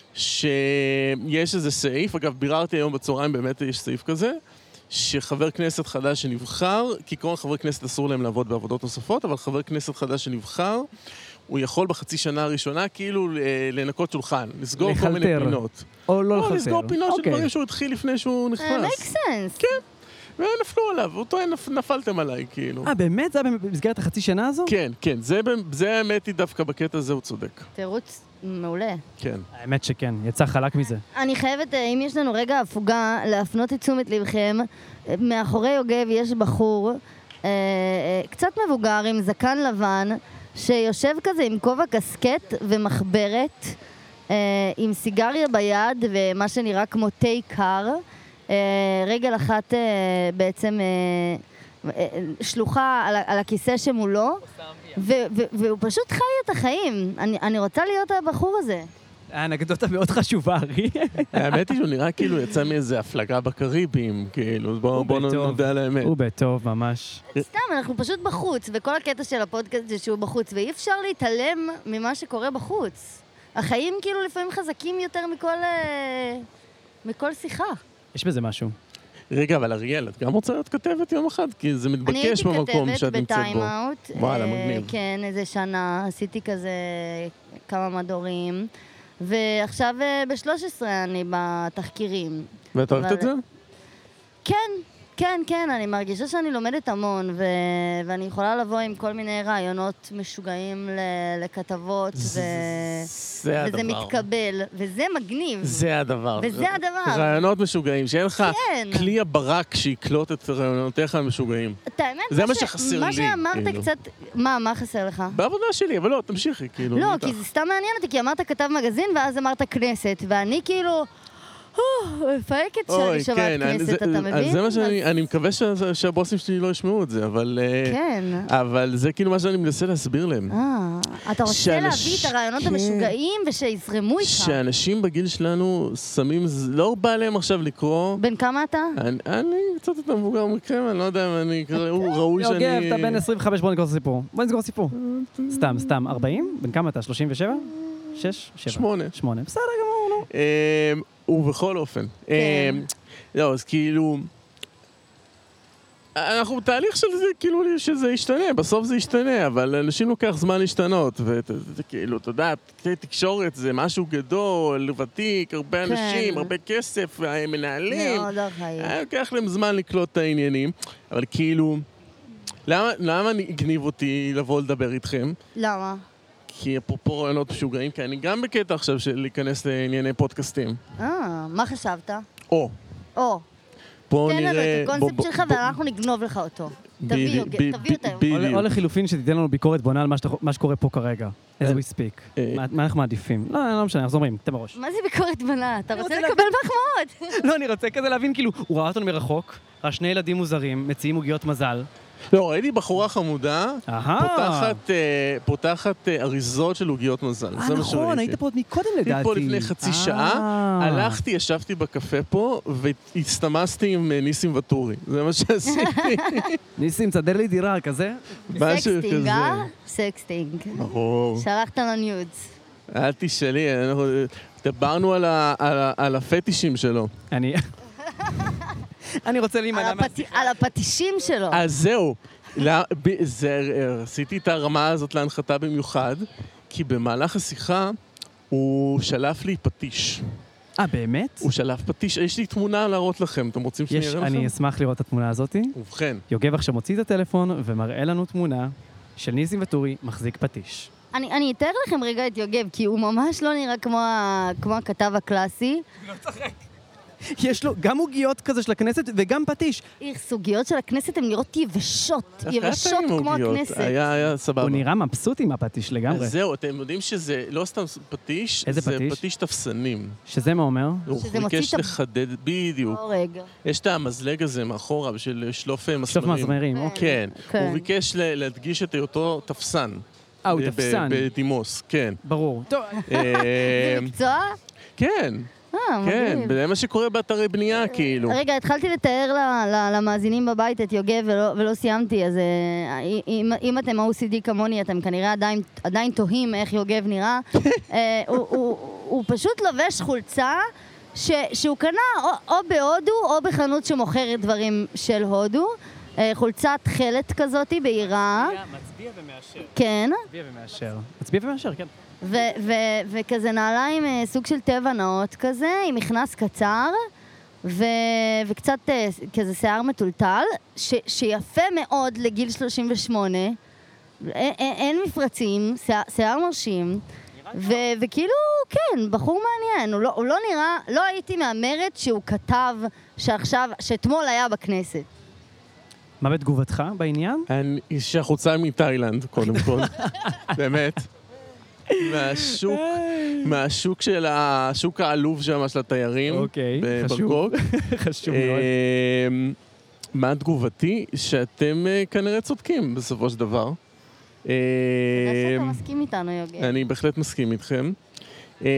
שיש איזה סעיף, אגב, ביררתי היום בצהריים, באמת יש סעיף כזה, שחבר כנסת חדש שנבחר, כעיקרון חברי כנסת אסור להם לעבוד בעבודות נוספות, אבל חבר כנסת חדש שנבחר, הוא יכול בחצי שנה הראשונה כאילו אה, לנקות שולחן, לסגור כל מיני
לחלטר.
פינות.
או לא
או
לחלטר.
לסגור פינות של
אוקיי.
דברים שהוא התחיל לפני שהוא
אה,
נכנס.
make sense.
כן, ונפלו עליו, הוא טוען, "נפ- נפלתם עליי, כאילו.
אה, באמת? זה היה במסגרת החצי שנה הזו?
כן, כן, זה, במ- זה האמת היא דווקא בקטע הזה הוא צודק.
תירוץ מעולה.
כן.
האמת שכן, יצא חלק מזה.
אני חייבת, אה, אם יש לנו רגע הפוגה, להפנות את תשומת לבכם. אה, מאחורי יוגב יש בחור, אה, אה, קצת מבוגר, עם זקן לבן, שיושב כזה עם כובע קסקט ומחברת, אה, עם סיגריה ביד ומה שנראה כמו תה קר. אה, רגל אחת אה, בעצם אה, אה, שלוחה על, ה- על הכיסא שמולו, ו- ו- והוא פשוט חי את החיים. אני, אני רוצה להיות הבחור הזה.
האנקדוטה מאוד חשובה, ארי.
האמת היא שהוא נראה כאילו יצא מאיזה הפלגה בקריבים, כאילו, בואו בוא
בטוב.
נודה על האמת.
הוא בטוב, ממש.
סתם, אנחנו פשוט בחוץ, וכל הקטע של הפודקאסט זה שהוא בחוץ, ואי אפשר להתעלם ממה שקורה בחוץ. החיים כאילו לפעמים חזקים יותר מכל, אה, מכל שיחה.
יש בזה משהו.
רגע, אבל אריאל, את גם רוצה להיות כתבת יום אחד? כי זה
אני
מתבקש
הייתי
במקום שאת
כתבת
נמצאת בו.
בטיים-אאוט.
וואלה,
אה,
מגניב.
כן, איזה שנה, עשיתי כזה כמה מדורים. ועכשיו אה, ב-שלוש עשרה אני בתחקירים.
ואת אוהבת
אבל-
את זה?
כן, כן, כן, אני מרגישה שאני לומדת המון, ו... ואני יכולה לבוא עם כל מיני רעיונות משוגעים ל... לכתבות, ו...
זה
וזה
הדבר.
מתקבל, וזה מגניב.
זה הדבר.
וזה הדבר.
רעיונות משוגעים, שאין לך
כן.
כלי הברק שיקלוט את רעיונותיך המשוגעים.
את האמת,
זה
מה
מה
ש-
שחסר
מה
לי,
שאמרת
כאילו.
קצת... מה, מה חסר לך?
בעבודה שלי, אבל לא, תמשיכי, כאילו.
לא,
איתך.
כי זה סתם מעניין אותי, כי אמרת כתב מגזין, ואז אמרת כנסת, ואני כאילו... "אה, מפהקת שאני
אוי,
שומעת
כן, אני-
כנסת,
זה-
אתה
אז
מבין?
זה מה שאני,
אז-
אני מקווה שה- שהבוסים שלי לא ישמעו את זה, אבל... אה,
כן.
אבל זה כאילו מה שאני מנסה להסביר להם.
אה, אתה רוצה
שאנש-
להביא את הרעיונות
כן.
המשוגעים ושיזרמו איתך.
שאנשים בגיל שלנו שמים, ז- לא בא להם עכשיו לקרוא.
בן כמה אתה?
אני, אני קצת יותר מבוגר מכם, אני לא יודע אם אני אקרא, הוא ראוי שאני...
יוגב, אתה בן עשרים וחמש, בוא נסגור סיפור. בוא נסגור סיפור. סתם, סתם. ארבעים? בן כמה אתה? שלושים ושבע? שש? שבע.
שמונה.
שמונה. בסדר גמור, נו.
אמ, ובכל אופן.
כן.
אמ, לא, אז כאילו... אנחנו בתהליך של זה, כאילו, שזה ישתנה, בסוף זה ישתנה, אבל לאנשים לוקח זמן להשתנות, וכאילו, אתה יודע, תקשורת זה משהו גדול, ותיק, הרבה
כן.
אנשים, הרבה כסף, מנהלים.
מאוד ארכאי.
היה לוקח להם זמן לקלוט את העניינים, אבל כאילו, למה, למה אני הגניב אותי לבוא לדבר איתכם?
למה?
כי אפרופו רעיונות משוגעים, כי אני גם בקטע עכשיו של להיכנס לענייני פודקאסטים.
אה, מה חשבת?
או,
או,
בואו
תן
נראה...
לנו את
בוא-
הקונספט
בוא-
שלך
בוא-
ואנחנו נגנוב לך אותו.
בדיוק,
תביא, יוגב,
ב-
תביא
ב-
אותם.
או-
בדיוק.
או לחילופין שתיתן לנו ביקורת בונה על מה שאתה- מה שקורה פה כרגע. as
אה,
we speak.
אה.
מה- מה אנחנו מעדיפים? לא, לא משנה, אנחנו אומרים, תן בראש.
מה זה ביקורת בנה? אתה רוצה
רוצה
לקבל מחמאות.
לא, אני רוצה כזה להבין, כאילו, הוא ראה אותנו מרחוק, ראה שני ילדים מוזרים, מציעים עוגיות מזל.
לא, ראיתי בחורה חמודה,
אהה.
פותחת, אה, פותחת אה, אריזות של עוגיות מזל.
אה,
זה מה
נכון,
שראיתי.
היית פה עוד מקודם לדעתי.
הייתי פה לפני חצי שעה,
אה.
הלכתי, ישבתי בקפה פה, והסתמסתי עם אה, ניסים וטורי. זה מה שעשיתי.
ניסים, תסדר לי דירה, כזה.
משהו
סקסטינג,
כזה.
אה? סקסטינג.
ברור.
שלחת לו ניודס.
אל תשאלי, אנחנו דיברנו על ה- על ה- על הפטישים שלו.
אני... אני רוצה להימנע
על הפט-
מהשיחה.
על הפטישים שלו.
אז זהו. לא, ב- זה, עשיתי את הרמה הזאת להנחתה במיוחד, כי במהלך השיחה הוא שלף לי פטיש.
אה, באמת?
הוא שלף פטיש, יש לי תמונה להראות לכם, אתם רוצים שאני
יש,
אראה לכם?
אני אשמח לראות את התמונה הזאת.
ובכן,
יוגב עכשיו מוציא את הטלפון ומראה לנו תמונה של ניסים וטורי מחזיק פטיש.
אני, אני אתאר לכם רגע את יוגב, כי הוא ממש לא נראה כמו, ה- כמו הכתב הקלאסי.
יש לו גם עוגיות כזה של הכנסת וגם פטיש.
איך, סוגיות של הכנסת הן נראות יבשות,
איך היה
יבשות
טעים
כמו
עוגיות?
הכנסת.
היה, היה סבבה.
הוא נראה מבסוט עם הפטיש לגמרי.
אז זהו, אתם יודעים שזה לא סתם פטיש,
איזה
זה
פטיש?
פטיש תפסנים.
שזה מה אומר?
הוא
שזה מוציא
ביקש
את ה-
לחדד, בדיוק.
לא, רגע.
יש את המזלג הזה מאחורה בשביל שלוף מסמרים.
שלוף מזמרים, אוקיי.
כן,
כן.
הוא ביקש ל- להדגיש את היותו תפסן.
אה, הוא
ב- ב-
תפסן.
בדימוס, כן.
ברור. טוב,
אה,
זה מקצוע?
כן,
אה,
כן,
מגניב.
זה מה שקורה באתרי בנייה, כאילו.
רגע, התחלתי לתאר ל- ל- למאזינים בבית את יוגב ולא, ולא סיימתי, אז אה, אם, אם אתם או סי די כמוני, אתם כנראה עדיין, עדיין תוהים איך יוגב נראה. אה, הוא, הוא, הוא פשוט לובש חולצה ש, שהוא קנה או, או בהודו או בחנות שמוכרת דברים של הודו. אה, חולצת תכלת כזאת בהירה.
מצביע ומאשר.
כן.
מצביע ומאשר. מצביע ומאשר, כן.
ו- ו- וכזה נעליים אה, סוג של טבע נאות כזה, עם מכנס קצר, ו- וקצת אה, כזה שיער מטולטל, ש- שיפה מאוד לגיל שלושים ושמונה, אין, אין, אין מפרצים, שיער, שיער מרשים, ו- וכאילו, כן, בחור מעניין, הוא לא, הוא לא נראה, לא הייתי מהמרת שהוא כתב שעכשיו, שאתמול היה בכנסת.
מה בתגובתך בעניין?
אני- שהחוצה מתאילנד, קודם כל. באמת. מהשוק, מהשוק של השוק העלוב שם של התיירים.
אוקיי, חשוב.
בבנגקוק.
חשוב מאוד.
אמ, מה תגובתי? שאתם אה, כנראה צודקים בסופו של דבר.
תודה שאתה
אמ,
מסכים איתנו, יוגב.
אני בהחלט מסכים איתכם. אמ,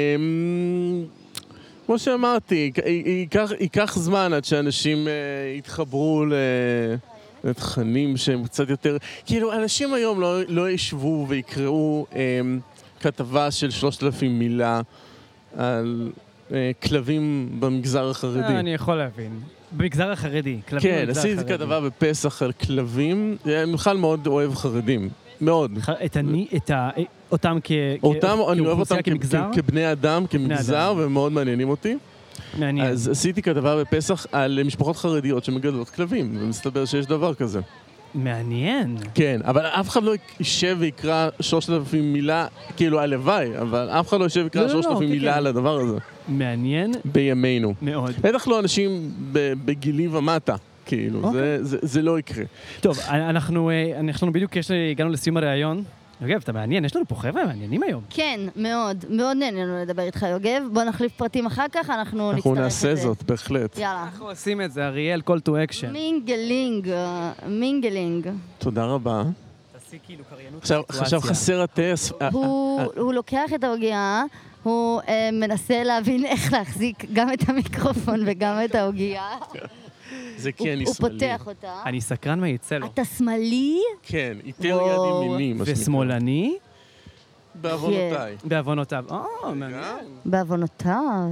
כמו שאמרתי, יק- ייקח, ייקח זמן עד שאנשים אה, יתחברו ל- לתכנים שהם קצת יותר... כאילו, אנשים היום לא, לא ישבו ויקראו אמ, כתבה של שלושת אלפים מילה על אה, כלבים במגזר החרדי.
אה, אני יכול להבין. במגזר החרדי. כלבים
כן,
במגזר
עשיתי
החרדי.
כתבה בפסח על כלבים. אני בכלל מאוד אוהב חרדים. מאוד.
ח- את אני, את ה... אותם כ...
אותם,
כ-
אני אוהב אותם
כאוכלוסייה,
כ-
כמגזר?
כ- כבני אדם, כמגזר,
אדם.
ומאוד מעניינים אותי.
מעניין.
אז עשיתי כתבה בפסח על משפחות חרדיות שמגדלות כלבים, ומסתבר שיש דבר כזה.
מעניין.
כן, אבל אף אחד לא יישב ויקרא שלושת אלפים מילה, כאילו הלוואי, אבל אף אחד לא יישב
לא,
ויקרא
לא,
שלושת אלפים
כן,
מילה
כן.
על הדבר הזה,
מעניין
בימינו.
מאוד.
בטח לא אנשים ב- בגילי ומטה, כאילו,
אוקיי.
זה- זה- זה לא יקרה.
טוב, אנחנו, אה, אנחנו בדיוק יש, לי- הגענו לסיום הראיון. יוגב, אתה מעניין, יש לנו פה חבר'ה מעניינים היום.
כן, מאוד, מאוד נהנינו לדבר איתך, יוגב. בוא נחליף פרטים אחר כך, אנחנו נצטרך את
אנחנו
זה.
נעשה זאת, בהחלט.
יאללה.
אנחנו עושים את זה, אריאל, call to action.
מינגלינג, אה, מינגלינג.
תודה רבה.
תעשי כאילו קריינות
עכשיו עכשיו חסר הטס.
הוא הוא לוקח את העוגיה, הוא אה, מנסה להבין איך להחזיק גם את המיקרופון וגם את העוגיה.
זה
הוא
כי אני
הוא
שמאלי.
פותח אותה.
אני סקרן מה יצא לו.
אתה שמאלי?
כן, איתר
וואו.
יד ימיני, מה שנקרא.
ושמאלני?
בעוונותיי.
בעוונותיו. או, מעניין.
בעוונותיו.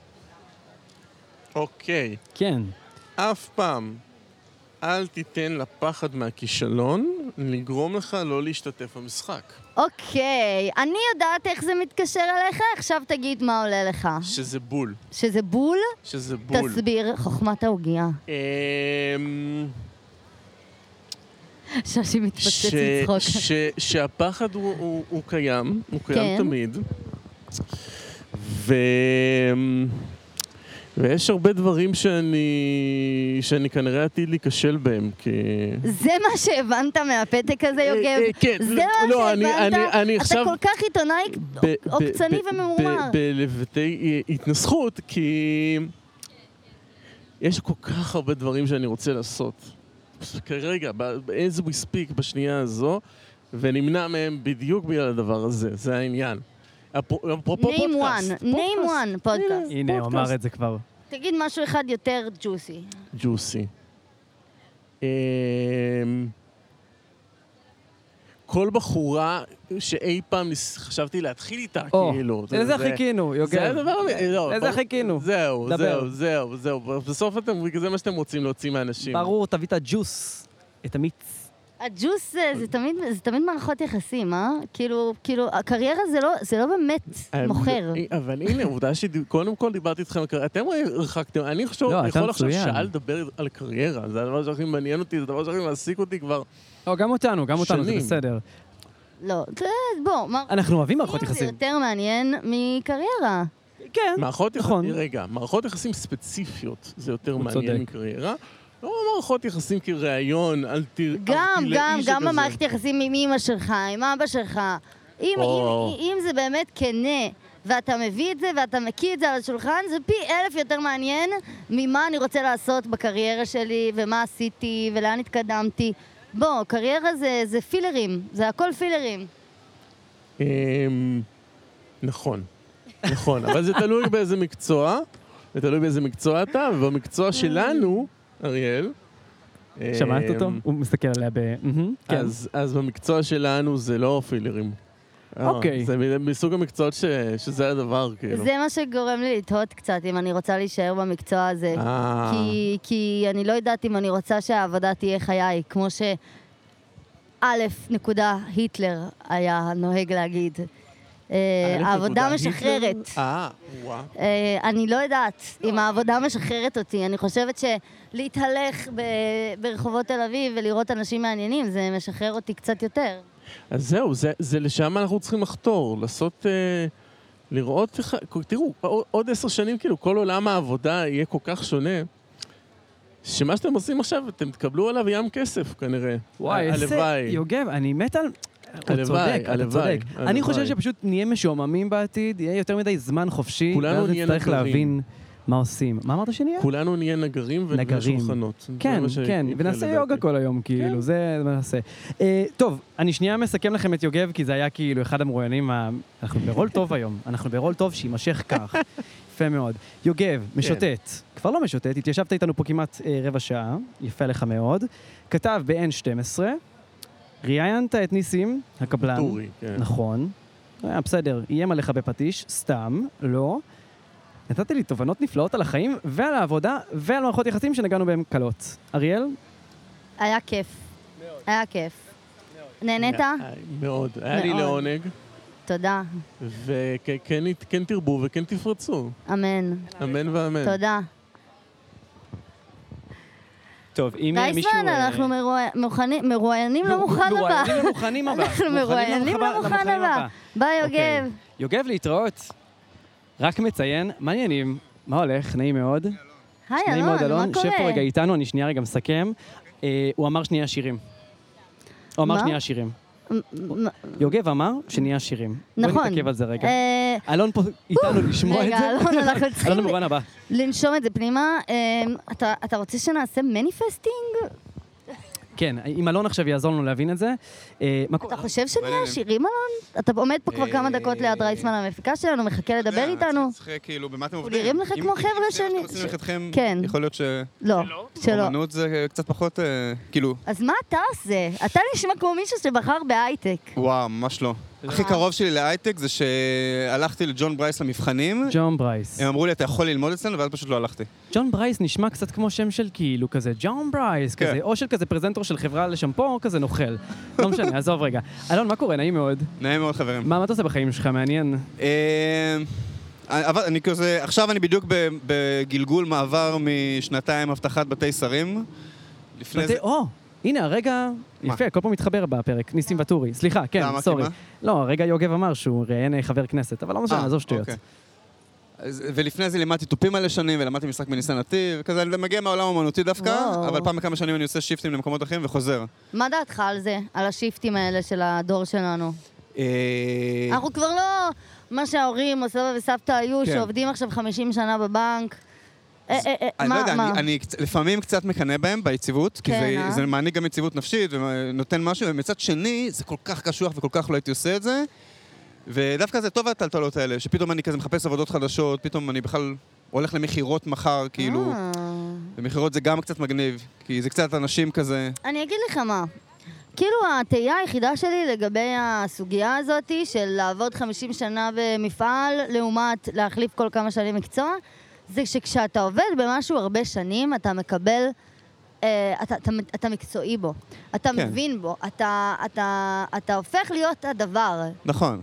אוקיי.
כן.
אף פעם אל תיתן לפחד מהכישלון לגרום לך לא להשתתף במשחק.
אוקיי, אני יודעת איך זה מתקשר אליך, עכשיו תגיד מה עולה לך.
שזה בול.
שזה בול?
שזה בול.
תסביר, חוכמת העוגיה.
אמ,
שושי מתפוצץ
ש-
לצחוק.
ש- שהפחד הוא, הוא, הוא קיים, הוא קיים
כן.
תמיד. ו... ויש הרבה דברים שאני, שאני כנראה עתיד להיכשל בהם, כי...
זה מה שהבנת מהפתק הזה,
אה,
יוגב?
אה, כן,
זה
לא,
מה
לא, אני-
שהבנת?
אני- אני
אתה
עכשיו-
כל כך עיתונאי
ב- ב-
עוקצני
ב-
וממורמר.
ב- בלבטי התנסחות, כי יש כל כך הרבה דברים שאני רוצה לעשות. כרגע, ב- as we speak, בשנייה הזו, ונמנע מהם בדיוק בגלל הדבר הזה, זה העניין. אפרופו אפרופו
name
פודקאסט.
one, name one, פודקאסט.
הנה, הוא אמר את זה כבר.
תגיד משהו אחד יותר ג'וסי.
ג'וסי. אמ, כל בחורה שאי פעם חשבתי להתחיל איתה,
או,
כאילו.
לזה חיכינו, יוגב.
זה הדבר...
לזה חיכינו.
זהו,
דבר.
זהו, זהו, זהו. בסוף אתם, זה מה שאתם רוצים להוציא מאנשים.
ברור, תביא את הג'וס, את המיץ.
הג'וס זה, זה תמיד, זה תמיד מערכות יחסים, אה? כאילו, כאילו, הקריירה זה לא, זה לא באמת מוכר.
אבל הנה, עובדה שקודם כל דיברתי איתכם על קריירה. אתם הרחקתם, אני חושב,
לא,
אני
אתה
יכול עכשיו
מצוין.
שעה לדבר על קריירה. זה הדבר שהכי מעניין אותי, זה הדבר שהכי מעסיק אותי כבר
לא, גם אותנו, גם אותנו, זה
שנים.
בסדר.
לא, זה, בוא, מה...
אנחנו אוהבים מערכות
זה
יחסים.
יותר מעניין מקריירה.
כן,
מערכות
נכון.
יחסים, רגע, מערכות יחסים ספציפיות זה יותר
הוא
מעניין
צודק.
מקריירה. לא מערכות יחסים כראיון, אל ת...
גם,
ארטילאי
גם, גם
שכזה.
במערכת יחסים עם אמא שלך, עם אבא שלך. אם,
או.
אם, אם זה באמת כנה, ואתה מביא את זה ואתה מקיא את זה על השולחן, זה פי אלף יותר מעניין ממה אני רוצה לעשות בקריירה שלי, ומה עשיתי, ולאן התקדמתי. בוא, קריירה זה, זה פילרים, זה הכל פילרים.
אמ, נכון, נכון, אבל זה תלוי באיזה מקצוע, זה תלוי באיזה מקצוע אתה, ובמקצוע שלנו, אריאל,
שמעת
אמ,
אותו? הוא מסתכל עליה ב... מהמם, כן.
אז, אז במקצוע שלנו זה לא פילרים. אה,
אוקיי.
זה מ- מסוג המקצועות ש, שזה הדבר, כאילו.
זה מה שגורם לי לתהות קצת, אם אני רוצה להישאר במקצוע הזה.
אה,
כי, כי אני לא יודעת אם אני רוצה שהעבודה תהיה חיי, כמו ש... א' נקודה היטלר היה נוהג להגיד. אה,
א'
העבודה
נקודה
משחררת.
היטלר? אה, וואו.
אה, אני לא יודעת אם העבודה משחררת אותי. אני חושבת שלהתהלך ב- ברחובות תל אביב ולראות אנשים מעניינים, זה משחרר אותי קצת יותר.
אז זהו, זה, זה לשם אנחנו צריכים לחתור, לעשות, אה, לראות איך, תראו, עוד עשר שנים, כאילו, כל עולם העבודה יהיה כל כך שונה, שמה שאתם עושים עכשיו, אתם תקבלו עליו ים כסף, כנראה.
וואי, איזה...
הלוואי.
יוגב, אני מת על... הוא
הלוואי,
צודק, אתה
הלוואי,
צודק.
הלוואי.
אני חושב שפשוט נהיה משועממים בעתיד, יהיה יותר מדי זמן חופשי,
כולנו
ואז
נהיה
נצטרך
נגרים.
להבין מה עושים. מה אמרת שנהיה?
כולנו נהיה נגרים
נגרים.
ושולחנות.
כן, כן, ונעשה יוגה כל היום, כאילו, זה מה נעשה. אה, טוב, אני שנייה מסכם לכם את יוגב, כי זה היה כאילו אחד המרואיינים, ה- אנחנו ברול טוב היום, אנחנו ברול טוב שימשך כך. יפה מאוד. יוגב, משוטט, כבר לא משוטט, התיישבת איתנו פה כמעט אה, רבע שעה, יפה לך מאוד. כתב ב-אן שתים עשרה, ראיינת את ניסים, הקבלן.
טורי, כן.
נכון. היה בסדר, איים עליך בפטיש, סתם, לא. נתת לי תובנות נפלאות על החיים ועל העבודה ועל מערכות יחסים שנגענו בהם קלות. אריאל?
היה כיף. היה כיף. נהנית?
אה, מאוד. היה לי
מאוד.
לעונג,
תודה.
וכן תרבו וכן תפרצו.
אמן.
אמן ואמן.
תודה.
טוב, אם מישהו...
דייסמן, אנחנו מרואי- מוכנים- מרואיינים למוכן הבא.
מרואיינים למוכנים הבא.
אנחנו מרואיינים למוכן הבא. ביי,
אוקיי.
יוגב.
יוגב, להתראות. רק מציין, מעניינים, מה הולך? נעים מאוד.
היי,
נעים מאוד,
אלון, מה
אלון. שב פה
קורה?
רגע איתנו, אני שנייה רגע מסכם. אה, הוא אמר שנייה שירים. הוא אמר
מה?
שנייה שירים.
מ- מ-
יוגב אמר שנהיה שירים.
נכון.
בוא נתעכב על זה רגע.
אה,
אלון פה איתנו לשמוע את
רגע,
זה.
אלון, אנחנו צריכים
אלון במובן הבא.
לנשום את זה פנימה. אה, אתה- אתה רוצה שנעשה מניפסטינג?
כן, אם אלון עכשיו יעזור לנו להבין את זה. אה, מה
אתה
קורה?
חושב שנהיה עשירים, אלון? אתה עומד פה כבר כמה דקות ליד רייסמן המפיקה שלנו, מחכה לדבר איתנו?
צריך כאילו, במה אתם
הוא
עובדים?
נראים לך
אם-
כמו
אם
חבר'ה
זה מה
שאני-
שאתם עושים לכתכם,
כן.
יכול להיות
לא, שלא.
שאומנות זה קצת פחות, אה, כאילו,
אז מה אתה עושה? אתה נשמע כמו מישהו שבחר בהייטק.
וואו, ממש לא. הכי קרוב שלי להייטק זה שהלכתי לג'ון ברייס למבחנים,
ג'ון ברייס.
הם אמרו לי, אתה יכול ללמוד אצלנו, ואז פשוט לא הלכתי.
ג'ון ברייס נשמע קצת כמו שם של כאילו כזה, ג'ון ברייס,
כן.
כזה, או של כזה פרזנטור של חברה לשמפו, או כזה נוכל. לא משנה, עזוב רגע. אלון, מה קורה? נעים מאוד.
נעים מאוד, חברים.
מה מה אתה עושה בחיים שלך? מעניין.
אה, אבל אני כזה, עכשיו אני בדיוק ב- בגלגול מעבר משנתיים הבטחת בתי שרים. לפני
בתי-
זה...
או, הנה, הרגע,
מה?
יפה, כל פעם מתחבר בפרק, ניסים ואטורי. סליחה, כן,
למה? כי
סורי.
מה?
לא, הרגע יוגב אמר שהוא ראיין חבר כנסת, אבל לא משנה,
אה,
עזוב שטויות.
אוקיי. אז- ולפני זה לימדתי תופים מלא שנים, ולמדתי משחק בניסן נתיב, וכזה, אני מגיע מהעולם האמנותי דווקא,
וואו.
אבל פעם בכמה שנים אני עושה שיפטים למקומות אחרים וחוזר.
מה דעתך על זה? על השיפטים האלה של הדור שלנו?
אה,
אנחנו כבר לא מה שההורים או סבא וסבתא היו,
כן.
שעובדים עכשיו חמישים שנה בבנק. אה, אה, אה,
אני לא
מה,
יודע,
מה?
אני- אני קצ- לפעמים קצת מקנא בהם ביציבות, כי
כן,
זה-
אה?
זה מעניק גם יציבות נפשית ונותן משהו, ומצד שני, זה כל כך קשוח וכל כך לא הייתי עושה את זה, ודווקא זה טוב הטלטלות האלה, שפתאום אני כזה מחפש עבודות חדשות, פתאום אני בכלל הולך למכירות מחר, כאילו,
אה.
ומכירות זה גם קצת מגניב, כי זה קצת אנשים כזה...
אני אגיד לך מה. כאילו, התהייה היחידה שלי לגבי הסוגיה הזאת של לעבוד חמישים שנה במפעל, לעומת להחליף כל כמה שנים מקצוע, זה שכשאתה עובד במשהו הרבה שנים, אתה מקבל, אה, אתה, אתה, אתה מקצועי בו, אתה
כן.
מבין בו, אתה, אתה, אתה הופך להיות הדבר.
נכון.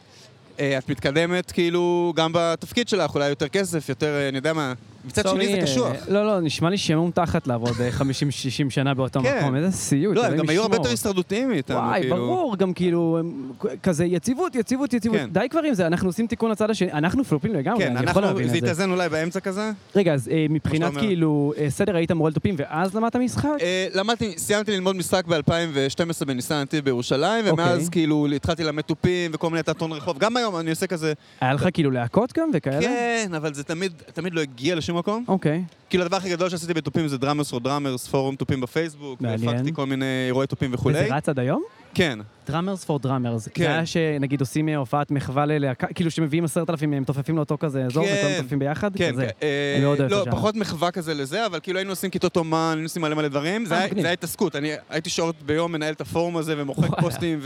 אה, את מתקדמת כאילו גם בתפקיד שלך, אולי יותר כסף, יותר, אה, אני יודע מה, מצד שני זה קשוח.
לא, לא, נשמע לי שעמום תחת לעבוד חמישים שישים שנה באותו
כן.
מקום, איזה סיוט.
לא, הם
אלוהים
גם היו הרבה
ישמור.
יותר הישרדותיים מאיתנו,
וואי,
כאילו.
ברור, גם כאילו, הם- כזה יציבות, יציבות, יציבות.
כן.
די כבר עם זה, אנחנו עושים תיקון לצד השני, אנחנו פלופים לגמרי,
כן,
אני יכול
אנחנו,
להבין
זה
את זה.
יתאזן אולי באמצע כזה.
רגע, אז אה, מבחינת
אומר.
כאילו, אה, סדר היית מורה לתופים ואז למדת משחק?
אה, למדתי, סיימתי ללמוד משחק ב-אלפיים ושתים עשרה בניסן נתיב בירושלים, ומאז
אוקיי.
כאילו התחלתי ללמד תופים וכל מיני תיאטרון רחוב. גם היום אני עושה כזה,
היה לך כאילו להקות גם וכאלה?
כן, אבל זה תמיד, תמיד לא הגיע לשום מקום.
אוקיי.
כאילו הדבר הכי גדול שעשיתי בתופים זה דראמרס או דראמרס, פורום תופים בפייסבוק,
מעניין.
והפקתי כל מיני אירועי תופים וכולי.
וזה רץ עד היום?
כן.
דראמרס פור דראמרס.
כן.
זה היה שנגיד עושים הופעת מחווה ללהקה, כאילו שמביאים עשרת אלפים, הם מתופפים לאותו כזה אזור,
כן.
וכולם מתופפים ביחד?
כן,
כזה.
כן. אה,
אני מאוד אוהב את
לא,
השאר.
פחות מחווה כזה לזה, אבל כאילו היינו עושים כיתות אומן, היינו עושים מלא מלא דברים. זה
אה,
היה-
מגניב.
זה היה התעסקות. אני הייתי שעות ביום מנהל את הפורום הזה, ומוחק
וואלה.
פוסטים,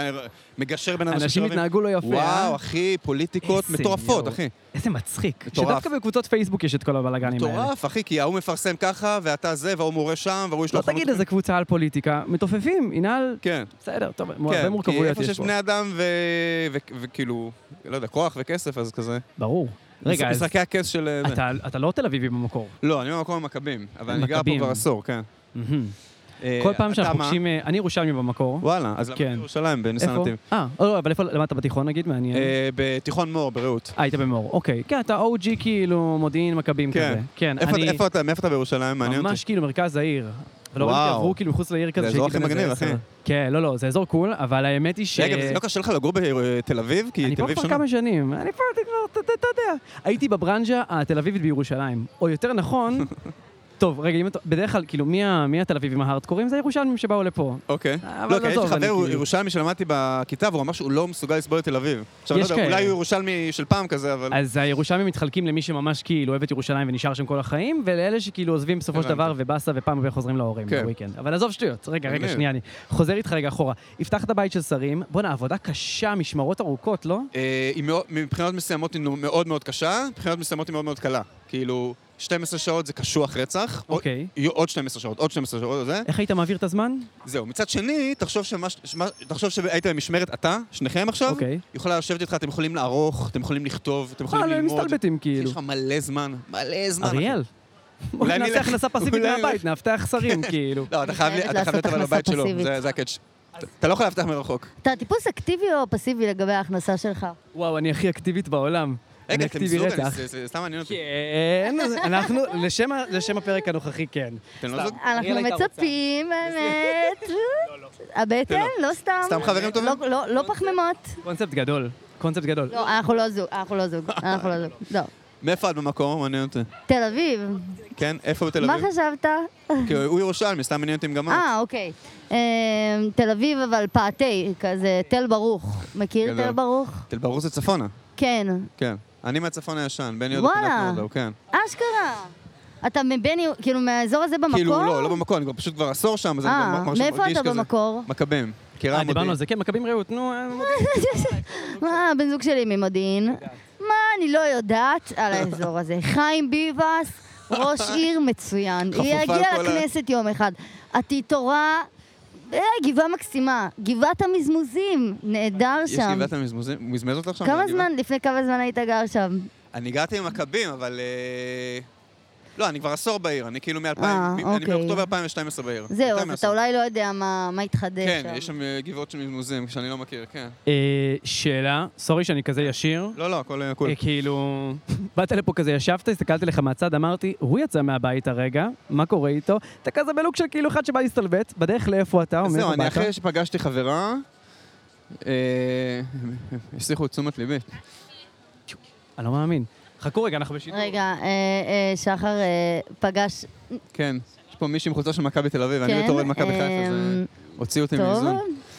ומגשר בין אנשים
אנשים
שאוהבים.
התנהגו לא יפה, אה?
וואו, אחי, פוליטיקות
איזה
מטורפות,
יואו.
אחי.
איזה מצחיק.
מטורף.
שדווקא בקבוצות פייסבוק יש את כל הבלאגנים האלה.
מטורף, אחי, כי ההוא מפרסם ככה, ואתה זה, והוא מורה שם, והוא יש לו
לא תגיד איזה קבוצה על פוליטיקה, מתופפים, ינהל,
כן,
בסדר, טוב, הרבה
כן, כי
מורכבויות
איפה
יש
שיש
פה.
בני אדם ו- ו- וכאילו, לא יודע, כוח וכסף, אז כזה.
ברור. רגע, אז
משחקי הכס של... זה.
אתה- אתה לא תל אביבי במקור.
לא, אני במקום המכבים, אבל אני גר פה
מכבים.
כבר עשור, כן.
מהמם.
אה,
כל פעם
אתה
שאנחנו
מה?
פוגשים, אה, אני ירושלמי במקור.
וואלה, אז
כן.
למדתי בירושלים, בניסן
איפה?
נתיב.
אה, לא, אבל איפה למדת בתיכון נגיד? מעניין.
אה, בתיכון מור, ברעות.
אה, היית במור, אוקיי. כן, אתה או ג'י כאילו מודיעין מכבים
כן.
כזה. כן,
איפה-
אני
איפה אתה, מאיפה אתה בירושלים? מעניין אותי.
ממש כאילו מרכז העיר. ולא
וואו.
ראיתי עברו כאילו מחוץ לעיר כזה.
זה אזור
שהייתי
הכי
בן איזה
מגניב,
עשר.
אחי.
כן, לא, לא, זה אזור קול, אבל האמת היא ש...
רגע, וזה לא קשה לך לגור בתל אביב? כי
אני
תל
פה
אביב
כבר
שונה.
כמה שנים, אני פה, אני כבר, אתה אתה יודע. הייתי בברנז'ה התל אביבית בירושלים. או יותר נכון, טוב, רגע, אם אתה, בדרך כלל, כאילו, מי ה- מי התל אביבים ההארדקורים? זה הירושלמים שבאו לפה.
אוקיי.
אבל
לא, כי יש
עזוב,
לי
אני
חבר
כאילו-
ירושלמי שלמדתי בכיתה, והוא אמר שהוא לא מסוגל לסבול את תל אביב. עכשיו, אני לא
יש
יודע,
כאלה.
אולי הוא ירושלמי של פעם כזה, אבל...
אז הירושלמים מתחלקים למי שממש כאילו אוהב את ירושלים ונשאר שם כל החיים, ולאלה שכאילו עוזבים בסופו של
הבנתי.
דבר ובאסה ופעם הבאה חוזרים להורים
כן.
בוויקנד. אבל עזוב שטויות, רגע, רגע,
מגניב.
שנייה, אני חוזר איתך רגע אחורה. הבטחת בית של שרים, בואנה, עבודה קשה, משמרות ארוכות, לא?
אה, היא מאוד- מבחינות מסוימות היא מאוד מאוד קשה, מבחינות מסוימות היא מאוד מאוד קלה. כאילו, שתים עשרה שעות זה קשוח רצח. עוד-
אוקיי.
יהיו עוד שתים עשרה שעות, עוד שתים עשרה שעות, זה.
איך היית מעביר את הזמן?
זהו. מצד שני, תחשוב שמה- שמה- תחשוב שהיית במשמרת אתה, שניכם עכשיו,
אוקיי.
יכולה לשבת איתך, אתם יכולים לערוך, אתם יכולים לכתוב, אתם יכולים
אה, לא, הם
ללמוד.
מסתלבטים
יש
כאילו.
לך מלא זמן, מלא זמן. אחי.
אריאל.
אולי
נעשה
נלך-
הכנסה פסיבית
אולי
מהבית, נאבטח שרים, כאילו.
לא, אתה חייב
חייבת
אתה חייב להיות
לעשות
אבל בבית
הכנסה
שלו,
פסיבית.
זה זה הקאץ'. אתה לא יכול להבטח מרחוק.
אתה טיפוס אקטיבי או פסיבי לגבי ההכנסה שלך?
וואו, אני הכי אקטיבית בעולם. אני
רגע, אתם
אקטיבי
זוג,
רצח.
אני- זה- זה סתם מעניין אותי.
כן, אנחנו, לשם ה- לשם הפרק הנוכחי, כן.
אתם לא
סתם.
זוג?
אנחנו
אריאל הייתה רוצה.
מצפים, באמת. הבטן? לא סתם.
סתם חברים טובים?
לא- לא- לא פחמימות.
קונספט גדול, קונספט גדול.
לא, אנחנו לא זוג, אנחנו לא זוג, אנחנו לא זוג. לא.
מאיפה את במקום? מעניין אותי.
תל אביב.
כן? איפה בתל
מה
אביב?
חשבת?
כי הוא ירושלמי, סתם מעניין אותי אם גם את.
אה, אוקיי. אה, תל אביב, אבל פעתי, כזה, תל ברוך. מכיר
גדול.
תל ברוך?
תל ברוך זה צפונה.
כן.
כן. אני מהצפון הישן, בן יהודה פינת
וואלה.
נורדאו, כן.
אשכרה. אתה מבני, כאילו, מהאזור הזה במקור?
כאילו, לא, לא במקור, אני כבר פשוט כבר עשור שם, אז אני
אה,
כבר מרגיש
מאיפה אתה
כזה.
במקור?
מכבים. מכירה
אה, דיברנו
מודיעין.
על זה, כן, מכבים רעות, נו. אה,
מה, הבן זוג שלי ממודיעין. מה, אני לא יודעת על האזור הזה. חיים ביבס, ראש עיר מצוין.
חפופה
היא
על
יגיע
כל ה-
לכנסת יום אחד. התיתורה, אה, גבעה מקסימה. גבעת המזמוזים, נהדר
יש
שם.
גבעת המזמוזים, הוא מזמז אותך שם?
כמה
בגבעה?
זמן, לפני כמה זמן היית גר שם?
אני הגעתי עם מכבים, אבל... אה, לא, אני כבר עשור בעיר, אני כאילו מ-אלפיים,
אה,
אני
אוקיי.
באוקטובר אלפיים ושתים עשרה בעיר.
זהו,
יותר
אז אתה
מעשור.
אולי לא יודע מה מה התחדש שם.
כן, יש שם אה, גבעות של מזמוזים, שאני לא מכיר, כן.
אה, שאלה, סורי שאני כזה ישיר.
לא, לא, הכל הכל.
אה, כאילו, באת לפה כזה, ישבת, הסתכלתי לך מהצד, אמרתי, הוא יצא מהבית הרגע, מה קורה איתו? אתה כזה בלוק של כאילו אחד שבא להסתלבט, בדרך לאיפה אתה, או מאיפה
זהו,
באת?
אני אחרי שפגשתי חברה, אה, השליחו את תשומת ליבי.
אני לא מאמין. חכו רגע, אנחנו בשידור.
רגע, אה, אה, שחר אה, פגש...
כן, יש פה מישהי עם חולצה של מכבי תל אביב, אני
כן,
בתור אוהד מכבי חיפה,
אה,
זה הוציא אותי
טוב.
מאיזון.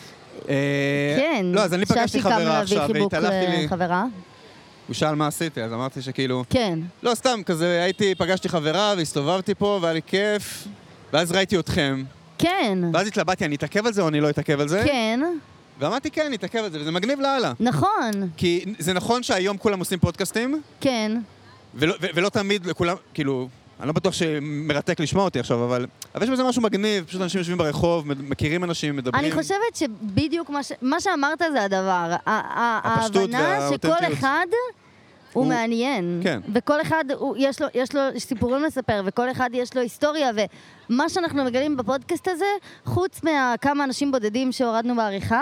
אה,
כן.
לא, אז אני פגשתי
ששי קם
חברה
להביא
עכשיו,
חיבוק
והתעלפתי לי,
לחברה.
הוא שאל מה עשיתי, אז אמרתי שכאילו...
כן.
לא, סתם, כזה הייתי, פגשתי חברה והסתובבתי פה, והיה לי כיף, ואז ראיתי אתכם,
כן.
ואז התלבטתי, אני אתעכב על זה או אני לא אתעכב על זה?
כן.
ואמרתי, כן, אני אתעכב על זה, וזה מגניב לאללה.
נכון.
כי זה נכון שהיום כולם עושים פודקאסטים,
כן.
ולא, ו- ולא תמיד לכולם, כאילו, אני לא בטוח שמרתק לשמוע אותי עכשיו, אבל, אבל יש בזה משהו מגניב, פשוט אנשים יושבים ברחוב, מכירים אנשים, מדברים.
אני חושבת שבדיוק מה, ש... מה שאמרת זה הדבר.
הפשטות
ההבנה
והאותנטיות.
שכל אחד הוא, הוא מעניין.
כן.
וכל אחד, הוא, יש, לו, יש לו סיפורים לספר, וכל אחד יש לו היסטוריה, ומה שאנחנו מגלים בפודקאסט הזה, חוץ מהכמה אנשים בודדים שהורדנו בעריכה,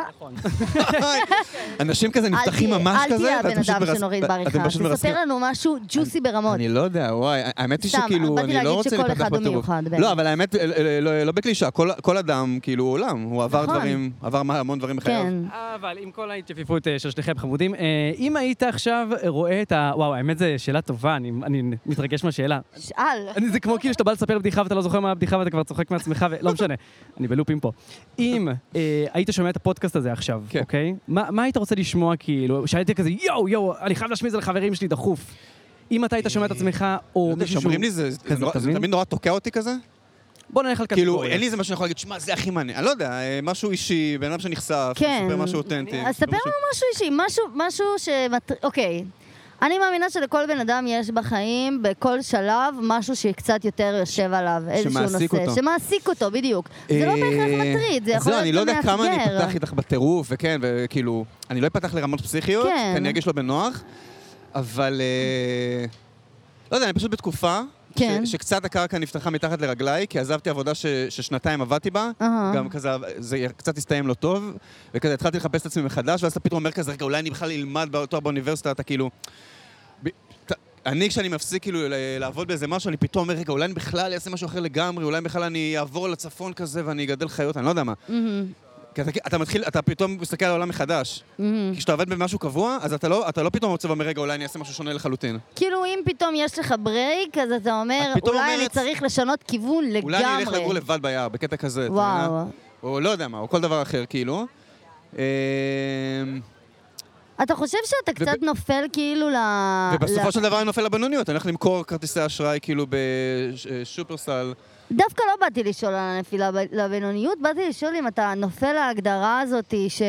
אנשים כזה נפתחים ממש
אל
כזה,
תהיה
ואתם
הבן
פשוט
אדם
מרס-
שנוריד
אתם
בעריכה,
פשוט מרסקים.
תספר לנו משהו ג'וסי ברמות.
אני לא יודע, וואי, האמת היא
סתם,
שכאילו,
באתי
אני
להגיד
לא רוצה
שכל
להתפתח
אחד הוא
בטירוף.
מיוחד, באמת.
לא, אבל האמת, לא- לא לא בקלישה, כל- כל אדם, כאילו, הוא עולם, הוא עבר
נכון.
דברים, עבר מה- המון דברים בחייו.
כן.
אבל עם כל ההתייפיפות אה, של שניכם חמודים, אה, אם היית עכשיו רואה את ה... וואו, האמת זו שאלה טובה, אני, אני מתרגש מהשאלה.
שאל.
אני, זה כמו כאילו שאתה בא לספר בדיחה ואתה לא זוכר מה הבדיחה ואתה כבר צוחק מעצמך, ולא משנה, אני בלופים פה. אם אה, היית שומע את הפודקאסט הזה עכשיו,
כן.
אוקיי? מה, מה היית רוצה לשמוע כאילו? שהייתי כזה, יואו, יואו, אני חייב להשמיע את זה לחברים שלי דחוף. אם אתה היית שומע את עצמך, או
לא יודע,
מישהו
שאומרים לי, זה זה
כזה,
נורא- זה
תבין?
תמיד נורא תוקע אותי כזה.
בוא נלך על
כאילו,
קטגוריה.
אין לי איזה משהו שאני יכול להגיד, שמע, זה הכי מעניין. אני לא יודע, אה, משהו אישי, בן אדם שנחשף,
כן.
מספר משהו אותנטי.
אז ספר לנו משהו אישי, משהו, משהו שמטר... אוקיי. אני מאמינה שלכל בן אדם יש בחיים, בכל שלב, משהו שקצת יותר יושב עליו, איזשהו נושא.
שמעסיק אותו.
שמעסיק אותו, בדיוק. זה לא בהכרח מטריד, זה
אז
יכול
זהו, אני
להיות
לא
גם
יודע כמה אני
מאתגר.
אפתח איתך בטירוף, וכן, וכאילו, אני לא אפתח לרמות פסיכיות,
כן.
כי אני ארגיש לא בנוח, אבל... אה, לא יודע, אני פשוט בתקופה,
כן.
ש- שקצת הקרקע נפתחה מתחת לרגליי, כי עזבתי עבודה ש- ששנתיים עבדתי בה,
אהה.
גם כזה, זה קצת הסתיים לא טוב, וכזה התחלתי לחפש את עצמי מחדש, ואז אתה פתאום אומר כזה, רגע, אולי אני בכלל אלמד בתואר באוניברסיטה, אתה כאילו... ב- ת- אני, כשאני מפסיק כאילו ל- לעבוד באיזה משהו, אני פתאום אומר, רגע, אולי אני בכלל אעשה משהו אחר לגמרי, אולי בכלל אני אעבור לצפון כזה ואני אגדל חיות, אני לא יודע מה.
מהמם,
כי אתה, אתה מתחיל, אתה פתאום מסתכל על העולם מחדש.
מהמם.
כי כשאתה עובד במשהו קבוע, אז אתה לא, אתה לא פתאום רוצה ואומר, רגע, אולי אני אעשה משהו שונה לחלוטין.
כאילו אם פתאום יש לך ברייק, אז אתה אומר,
את פתאום
אולי אני
אומרת,
צריך לשנות כיוון לגמרי.
אולי אני אלך לגור לבד ביער, בקטע כזה. אתה
וואו.
מבינה? או לא יודע מה, או כל דבר אחר, כאילו. אמ,
אתה חושב שאתה קצת
וב-
נופל כאילו ל... ל-
ובסופו של דבר אני נופל לבינוניות, אני הולך למכור כרטיסי אשראי כאילו בשופרסל.
דווקא לא באתי לשאול על הנפילה ב- לבינוניות, באתי לשאול אם אתה נופל להגדרה הזאת ש...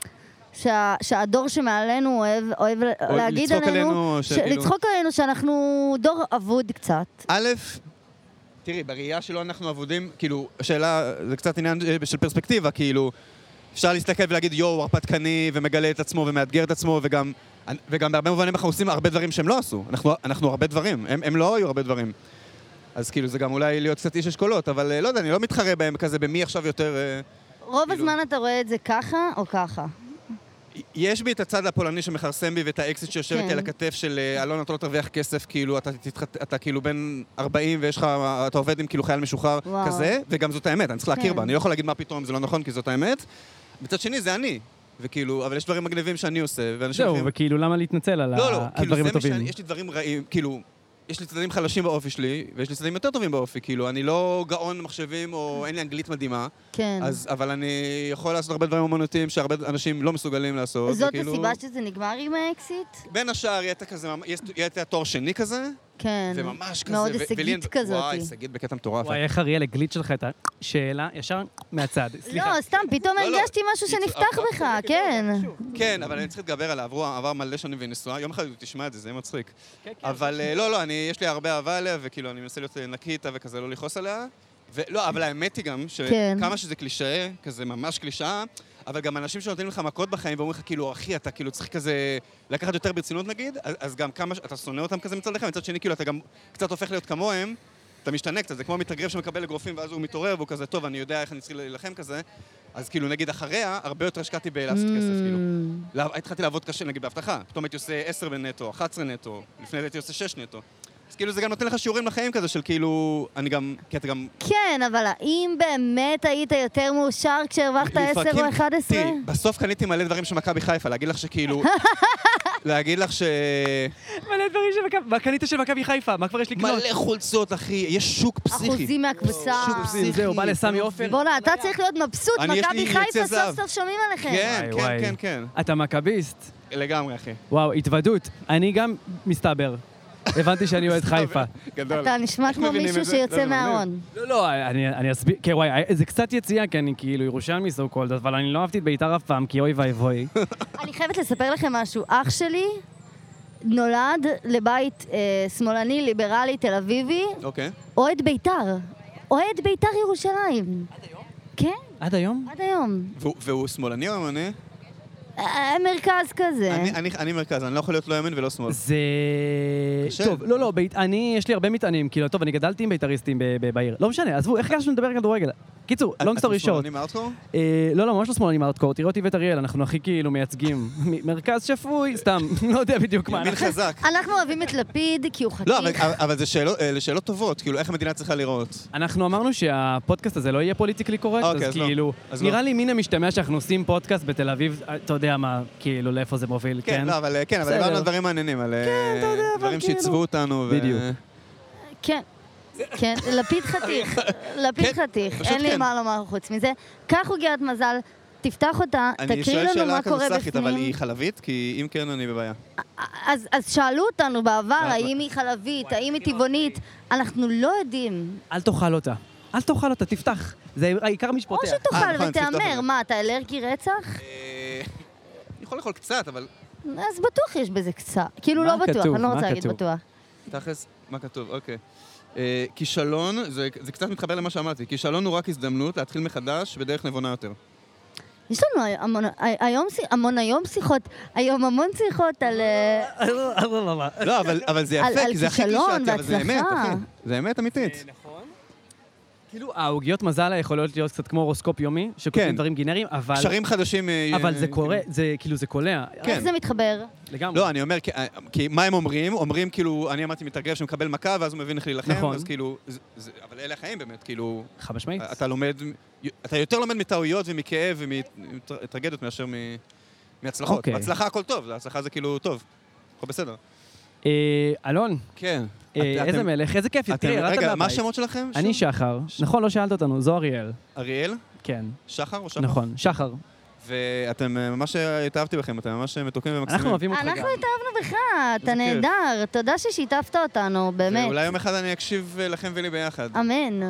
שה... שהדור שמעלינו אוהב, אוהב להגיד
לצחוק
עלינו,
עלינו,
ש...
שכאילו-
לצחוק עלינו שאנחנו דור אבוד קצת.
א', תראי, בראייה שלו אנחנו עבודים, כאילו, השאלה, זה קצת עניין אה, של פרספקטיבה, כאילו, אפשר להסתכל ולהגיד, יואו, הרפתקני, ומגלה את עצמו, ומאתגר את עצמו, וגם, וגם בהרבה מובנים אנחנו עושים הרבה דברים שהם לא עשו. אנחנו, אנחנו הרבה דברים, הם, הם לא היו הרבה דברים. אז כאילו, זה גם אולי להיות קצת איש אשכולות, אבל אה, לא יודע, אני לא מתחרה בהם כזה, במי עכשיו יותר... אה,
רוב
כאילו-
הזמן אתה רואה את זה ככה או ככה.
יש בי את הצד הפולני שמחרסם בי ואת האקסיט שיושב
כן.
איתי על הכתף של אה, אלון, אתה לא תרוויח כסף, כאילו, אתה, תתחת, אתה כאילו בן ארבעים ויש לך, אתה עובד עם כאילו חייל משוחרר
וואו.
כזה, וגם זאת האמת, אני צריך להכיר
כן.
בה, אני לא יכול להגיד מה פתאום, זה לא נכון, כי זאת האמת. מצד שני, זה אני, וכאילו, אבל יש דברים מגניבים שאני עושה, ואנשים...
זהו,
אחרים-
וכאילו למה להתנצל על
לא, לא,
ה-
כאילו,
הדברים
זה
הטובים?
משנה, יש לי דברים רעים, כאילו, יש לי צדדים חלשים באופי שלי, ויש לי צדדים יותר טובים באופי, כאילו, אני לא גאון מחשבים, או אין לי אנגלית מדהימה,
כן.
אז, אבל אני יכול לעשות הרבה דברים אומנותיים שהרבה אנשים לא מסוגלים לעשות.
זאת
וכאילו-
הסיבה שזה נגמר עם האקסיט?
בין השאר יהיה את כזה, יש- יהיה את התואר שני כזה,
כן.
וממש כזה.
מאוד
ו- ולי
הישגית
אין-
כזאת.
וואי, הישגית בקטע מטורף.
וואי, איך אריאל הגליץ' שלך את השאלה ישר מהצד. סליחה.
לא, סתם, פתאום
לא, לא.
הרגשתי משהו
קיצור,
שנפתח
אבל-
בך, כן.
כן, אבל אני צריך להתגבר עליו, עברו, עבר מלא שנים והיא נשואה, יום אחד הוא תשמע את זה, זה יהיה מצחיק.
כן, כן.
אבל אה, לא, לא, אני, יש לי הרבה אהבה עליה, וכאילו, אני מנסה להיות נקי איתה וכזה, לא לכעוס עליה. ולא, אבל האמת היא גם,
כן.
שכמה שזה קלישאה, כזה ממש קלישאה, אבל גם אנשים שנותנים לך מכות בחיים ואומרים לך, כאילו, אחי, אתה כאילו צריך כזה לקחת יותר ברצינות נגיד, אז, אז גם כמה, ש- אתה שונא אותם כזה מצד לך, מצד שני, כאילו, אתה גם קצת הופך להיות כמוהם, אתה משתנה קצת, זה כמו מתאגרף שמקבל אגרופים ואז הוא מתעורר והוא כזה, טוב, אני יודע איך אני צריך להילחם כזה, אז כאילו, נגיד, אחריה, הרבה יותר השקעתי בלעשות כסף, כאילו. לא, התחלתי לעבוד קשה, נגיד, בהבטחה. פתאום הייתי עושה עשר בנטו, אחת עשרה נטו, לפני זה הייתי עושה שש נטו. אז כאילו זה גם נותן לך שיעורים לחיים כזה של כאילו, אני גם, כי אתה גם...
כן, אבל האם באמת היית יותר מאושר כשהרווחת עשר
לפרקים-
או אחד עשרה?
תראי, בסוף קניתי מלא דברים של מכבי חיפה, להגיד לך שכאילו... להגיד לך ש...
מלא דברים של מכבי... מה קנית של מכבי חיפה? מה כבר יש לקנות?
מלא חולצות, אחי, יש שוק פסיכי.
אחוזים מהקבוצה.
שוק פסיכי.
זהו, בא לסמי עופר.
בוא'נה, אתה צריך להיות מבסוט,
אני, יש
מכבי
לי
חיפה
יצא זהב.
סוף סוף שומעים עליכם.
כן,
וואי,
כן,
וואי.
כן, כן.
אתה מכביסט.
לגמרי, אחי.
וואו, התוודות. אני גם מסתבר. הבנתי שאני אוהד חיפה.
גדול.
אתה נשמע
איך
כמו
מבינים
מישהו
את זה?
שיוצא
לא, זה מגניב.
מהארון.
לא, לא, אני אני אסביר, כן, וואי, זה קצת יציאה, כי אני כאילו ירושלמי סו קולד, אבל אני לא אהבתי את בית"ר אף פעם, כי אוי ואבוי.
אני חייבת לספר לכם משהו. אח שלי נולד לבית אה, שמאלני, ליברלי, תל אביבי,
אוקיי.
אוהד בית"ר. אוהד בית"ר ירושלים. עד היום? כן,
עד היום?
עד היום.
והוא- והוא שמאלני או ימני?
אה, מרכז כזה.
אני- אני- אני מרכז, אני לא יכול להיות לא ימין ולא שמאל.
זה...
קשה.
טוב, לא, לא, בית... אני, יש לי הרבה מטענים, כאילו, טוב, אני גדלתי עם בית"ריסטים ב- ב- בעיר. לא משנה, עזבו, איך הגשנו לדבר כדורגל? קיצור, לונג סטורי שורט.
אתם שמאלנים הארדקור?
אה, לא, לא, ממש לא שמאלנים הארדקור, תראו אותי ואת אריאל, אנחנו הכי כאילו מייצגים מ- מרכז שפוי, סתם, לא יודע בדיוק מה.
ימין
אנחנו-
חזק.
אנחנו אוהבים את לפיד כי הוא
לא, אבל-
חתיך.
אבל זה שאלות- אלה שאלות טובות, כאילו, איך המדינה צריכה לראות.
אנחנו אמרנו שהפודקאסט הזה לא יהיה פוליטיקלי קורקט,
אוקיי,
אז
אז לא.
כאילו,
אז לא.
נראה לי מן המשתמע שאנחנו עושים פודקאסט בתל אביב, אתה יודע מה, כאילו, לאיפה זה מוביל,
כן,
כן?
לא, אבל כן, אבל
בסדר.
דיברנו על דברים מעניינים, על
אתה יודע, אבל
דברים
כאילו-
שעיצבו אותנו. ו-
בדיוק.
כן. כן, לפיד חתיך. לפיד
כן,
חתיך.
פשוט
אין לי
כן.
מה לומר חוץ מזה. קח עוגיית מזל, תפתח אותה,
אני
תקריא
שואל
לנו
שאלה
מה קורה
כנוסחית, אבל
בפנים.
היא חלבית? כי אם כן, אני בבעיה.
אז, אז שאלו אותנו בעבר,
מה-
האם היא חלבית, האם היא טבעונית, אנחנו לא יודעים.
אל תאכל אותה. אל תאכל אותה, תפתח. זה העיקר מי
או
שפותח.
אה,
שתאכל
נכון, צריך
ותהמר,
לפתוח.
מה, אתה אלרגי רצח?
אה, אני יכול לאכול קצת, אבל
אז בטוח יש בזה קצת. כאילו
מה
לא בטוח,
כתוב?
אני לא
מה
רוצה להגיד
כתוב?
בטוח.
תכלס, מה כתוב? אוקיי. אה, כישלון, זה זה קצת מתחבר למה שאמרתי, כישלון הוא רק הזדמנות להתחיל מחדש בדרך נבונה יותר.
יש לנו המון, היום, המון היום שיחות, היום המון שיחות על... אה,
לא, אבל אבל זה
על-
יפה,
על
כי זה הכי
כישלון
קלישאתי, אבל זה אמת,
והצלחה.
אחי. זה אמת אמיתית.
כאילו, העוגיות מזל יכולות להיות קצת כמו הורוסקופ יומי, שכותבים
כן.
דברים גנריים, אבל...
קשרים חדשים... אה,
אבל זה
אה,
קורה, זה כאילו, זה קולע.
כן.
איך זה מתחבר?
לגמרי.
לא, אני אומר, כי- כי מה הם אומרים? אומרים כאילו, אני אמרתי מתאגרף שמקבל מכה, ואז הוא מבין איך להילחם,
נכון.
אז כאילו, זה- זה- אבל אלה החיים באמת, כאילו,
חד משמעית.
אתה לומד, אתה יותר לומד מטעויות ומכאב ומטרגדיות מאשר מ- מהצלחות.
אוקיי.
בהצלחה הכל טוב, הצלחה זה כאילו טוב, הכל בסדר.
אה, אלון,
כן.
אה,
את-
איזה
אתם-
מלך, איזה כיף,
אתם-
תראה, ירדת
רגע, מה
מהבית.
השמות שלכם?
אני
שוב?
שחר. נכון, לא שאלת אותנו, זו אריאל.
אריאל?
כן,
שחר או שחר?
נכון, שחר.
ואתם אה, ממש התאהבתי בכם, אתם ממש מתוקים ומקסימים.
אנחנו אוהבים אותך גם.
אנחנו התאהבנו בך, אתה
איזה כיף.
נהדר. תודה ששיתפת אותנו, באמת.
ואולי יום אחד אני אקשיב אה, לכם ולי ביחד.
אמן.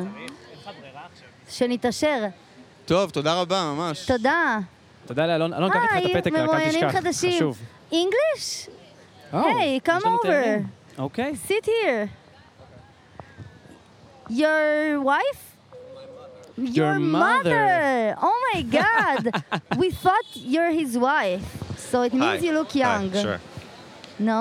שנתעשר.
טוב, תודה רבה, ממש.
תודה.
תודה לאלון. אלון, קח איתך את הפתק, רק אל
מרואיינים
תשכח.
חדשים.
חשוב.
English?
או,
Hey,
יש
come
לנו
over.
תארים. אוקיי.
Sit here. Your wife?
Your mother.
Oh my God. We thought you're his wife. So it means
Hi.
you look
Hi,
young.
sure.
No?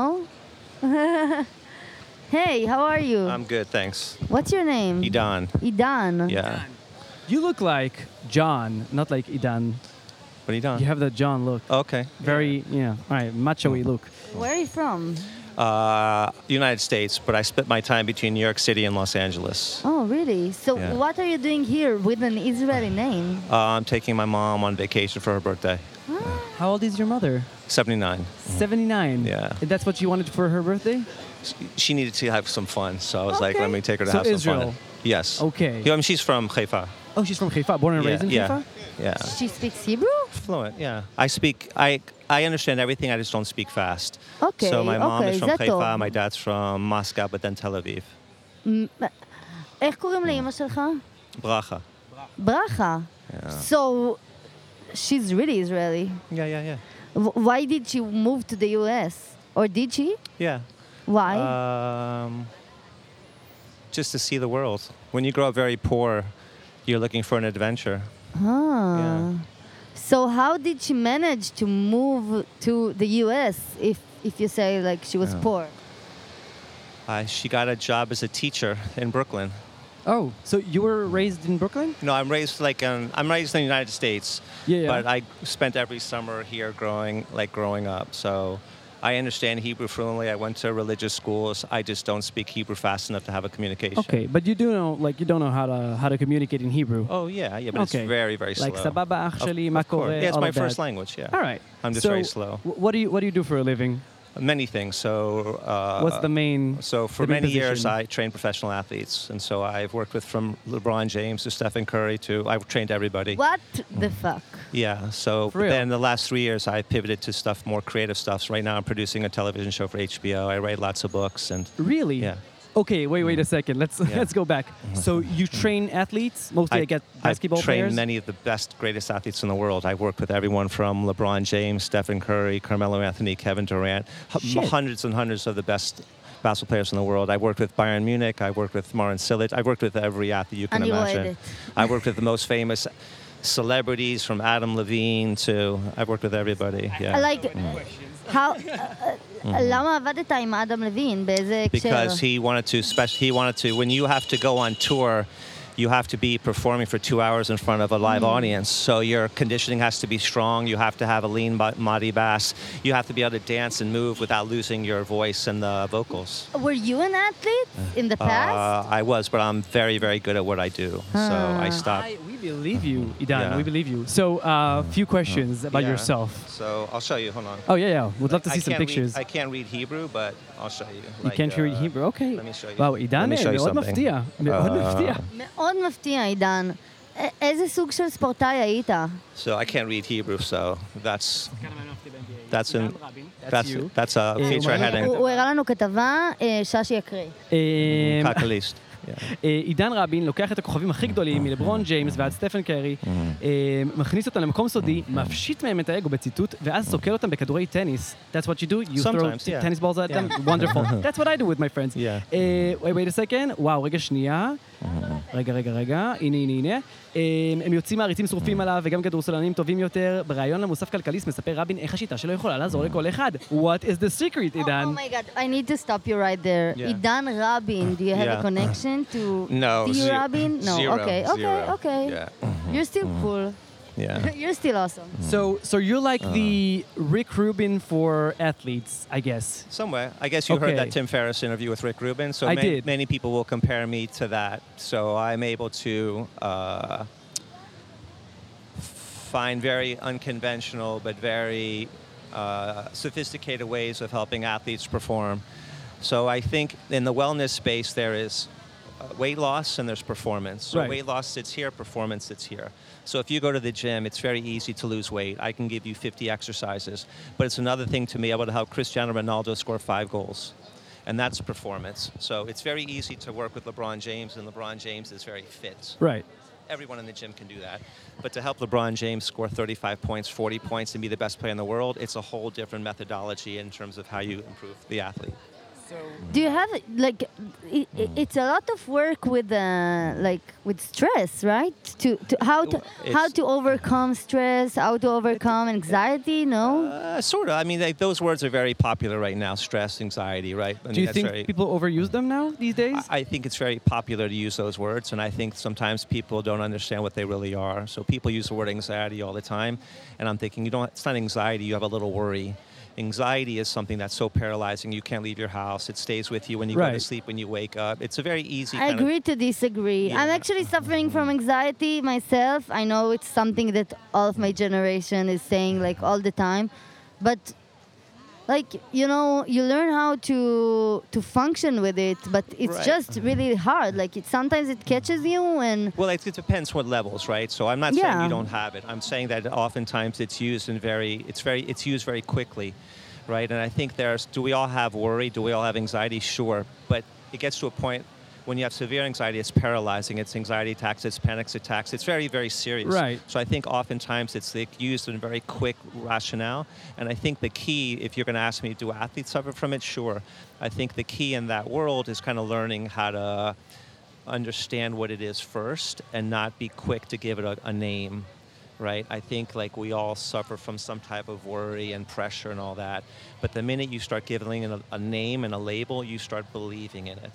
Hey, how are you?
I'm good, thanks.
What's your name?
Idan.
Idan.
Yeah.
You look like John, not like Idan.
What are you doing?
You have that John look.
Okay.
Very, yeah, all right, macho-y look.
Where are you from?
Uh, United States, but I split my time between New York City and Los Angeles.
Oh, really? So
Yeah.
what are you doing here with an Israeli name?
Uh, I'm taking my mom on vacation for her birthday.
How old is your mother?
seventy-nine.
seventy-nine.
Yeah.
And that's what you wanted for her birthday?
She needed to have some fun, so I was like,
Okay.
let me take her to
So
have some
Israel.
fun. Yes.
Okay.
Yeah, I mean, she's from Haifa.
Oh, she's from Haifa, born and
Yeah,
raised in
yeah.
Haifa?
Yeah.
She speaks Hebrew?
Fluent, yeah. I speak, I I understand everything, I just don't speak fast.
Okay,
So my mom
okay,
is from
זה טוב.
Haifa, my dad's from Moscow, but then Tel Aviv.
מ- איך קוראים לאמא שלך?
Bracha.
ברכה.
Yeah.
So, she's really Israeli.
Yeah, yeah, yeah.
W- why did she move to the U S? Or did she?
Yeah.
Why?
Um, just to see the world. When you grow up very poor, you're looking for an adventure.
ah.
yeah.
So how did she manage to move to the U S if if you say like she was
Yeah.
poor?
Uh, she got a job as a teacher in Brooklyn.
Oh, so you were raised in Brooklyn?
No, I'm raised like um, I'm raised in the United States,
Yeah, yeah.
but I spent every summer here growing like growing up. So I understand Hebrew fluently. I went to religious schools. I just don't speak Hebrew fast enough to have a communication.
Okay, but you do know, like, you don't know how to how to communicate in Hebrew.
Oh yeah, yeah, but
Okay.
it's very very
Like,
slow.
sababa,
Of-
actually,
of
ma
course.
kore,
Yeah, it's
all
my
of
first
that.
language. Yeah.
All right.
I'm just
So,
very slow.
wh- What do you What do you do for a living?
Many things. So. Uh,
What's the main?
So for
the main
many years,
position?
I trained professional athletes, and so I've worked with from LeBron James to Stephen Curry to I've trained everybody.
What the fuck?
Yeah. So
For real?
then the last three years, I pivoted to stuff more creative stuff. So right now, I'm producing a television show for H B O. I write lots of books, and
Really?
yeah.
Okay, wait, wait a second. Let's
Yeah.
let's go back. So you train athletes, mostly I, get basketball
I've trained
players.
many of the best, greatest athletes in the world. I've worked with everyone from LeBron James, Stephen Curry, Carmelo Anthony, Kevin Durant, h-
Shit.
hundreds and hundreds of the best basketball players in the world. I've worked with Bayern Munich. I've worked with Marin Cilic. I've worked with every athlete you can
אני
imagine.
רועדת.
I've worked with the most famous celebrities from Adam Levine to I've worked with everybody. Yeah.
Like, how... למה עבדת עם אדם לוין? באיזה הקשר?
Because he wanted to spec- he wanted to when you have to go on tour, you have to be performing for two hours in front of a live audience. So your conditioning has to be strong. You have to have a lean bo- body mass. You have to be able to dance and move without losing your voice and the vocals.
Were you an athlete in the past?
Uh, I was, but I'm very, very good at what I do. So I stopped.
I, we believe you, Idan.
Yeah.
We believe you. So, a uh, few questions about
Yeah.
yourself.
So I'll show you. Hold on.
Oh yeah, yeah. We'd love to
I
see some
can't
pictures.
Read, I can't read Hebrew, but I'll show you.
You
Like,
can't read
uh,
Hebrew. Okay.
Let me show you.
וואו, עידן
Let me show you
מאוד
something.
מפתיע. מאוד
Uh,
מפתיע.
מאוד מפתיע, עידן. א- איזה סוג של ספורטאי היית?
So I can't read Hebrew, so that's that's in
That's
that's
you.
that's a
Eh,
feature
well,
heading.
הוא הוא הראה לנו כתבה, אה, ששי יקריא.
אה,
Kakalist. Yeah.
אה, עידן רבין לוקח את הכוכבים הכי גדולים מלברון ג'יימס ועד סטפן קרי, אה, מכניס אותם למקום סודי, מפשיט מהם את האגו בציטוט, ואז סוקר אותם בכדורי טניס. That's what you do? You throw
Sometimes, yeah.
tennis balls at them? Wonderful. That's what I do with my friends.
Yeah.
אה, wait, wait a second. וואו, רגע שנייה. רגע, רגע, רגע. הנה, הנה, הנה. אה, הם יוצאים מעריצים שרופים עליו, וגם כדורסלנים טובים יותר. בריאיון למוסף כלכליסט מספר רבין איך השיטה שלו יכולה לעזור לכל אחד. What is the secret, עידן?
Oh my god, I need to stop you right there.
Yeah.
עידן רבין, do you have a
Yeah.
connection to
No,
Theo
zero.
Rabin? No,
Zero,
okay, okay,
zero.
okay.
Yeah.
You're still cool.
Yeah.
You're still awesome.
So, so you're like
Uh.
the Rick Rubin for athletes, I guess.
Somewhere. I guess you heard
Okay.
that Tim Ferriss interview with Rick Rubin. So
I
ma-
did.
many people will compare me to that. So I'm able to uh, find very unconventional but very uh, sophisticated ways of helping athletes perform. So I think in the wellness space there is uh, weight loss and there's performance. So
Right.
weight loss sits here, performance sits here. So if you go to the gym, it's very easy to lose weight. I can give you fifty exercises. But it's another thing to be able to help Cristiano Ronaldo score five goals. And that's performance. So it's very easy to work with LeBron James, and LeBron James is very fit.
Right.
Everyone in the gym can do that. But to help LeBron James score thirty-five points, forty points, and be the best player in the world, it's a whole different methodology in terms of how you improve the athlete.
Do you have like i- i- it's a lot of work with uh, like with stress, right? To, to how to how
It's-
to overcome stress, how to overcome anxiety, no?
Uh, sort of. I mean, like, those words are very popular right now: stress, anxiety, right? I mean,
Do you
that's
think
very,
people overuse them now these days?
I I think it's very popular to use those words, and I think sometimes people don't understand what they really are. So people use the word anxiety all the time, and I'm thinking, you don't. It's not anxiety. You have a little worry. Anxiety is something that's so paralyzing. You can't leave your house. It stays with you when you go
Right.
to sleep, when you wake up. It's a very easy.
I
kind of-
agree to disagree. I'm
Yeah.
actually suffering from anxiety myself. I know it's something that all of my generation is saying like all the time, but like you know, you learn how to to function with it, but it's
Right.
just really hard. Like it sometimes it catches you and
Well, it, it depends what levels, right? So I'm not saying
Yeah.
you don't have it. I'm saying that oftentimes it's used in very, it's very, it's used very quickly, right? And I think there's, do we all have worry? Do we all have anxiety? Sure, but it gets to a point when you have severe anxiety, it's paralyzing. It's anxiety attacks, it's panic attacks. It's very, very serious.
Right.
So I think oftentimes it's like used in very quick rationale. And I think the key, if you're going to ask me, do athletes suffer from it? Sure. I think the key in that world is kind of learning how to understand what it is first and not be quick to give it a, a name, right? I think like we all suffer from some type of worry and pressure and all that. But the minute you start giving it a, a name and a label, you start believing in it.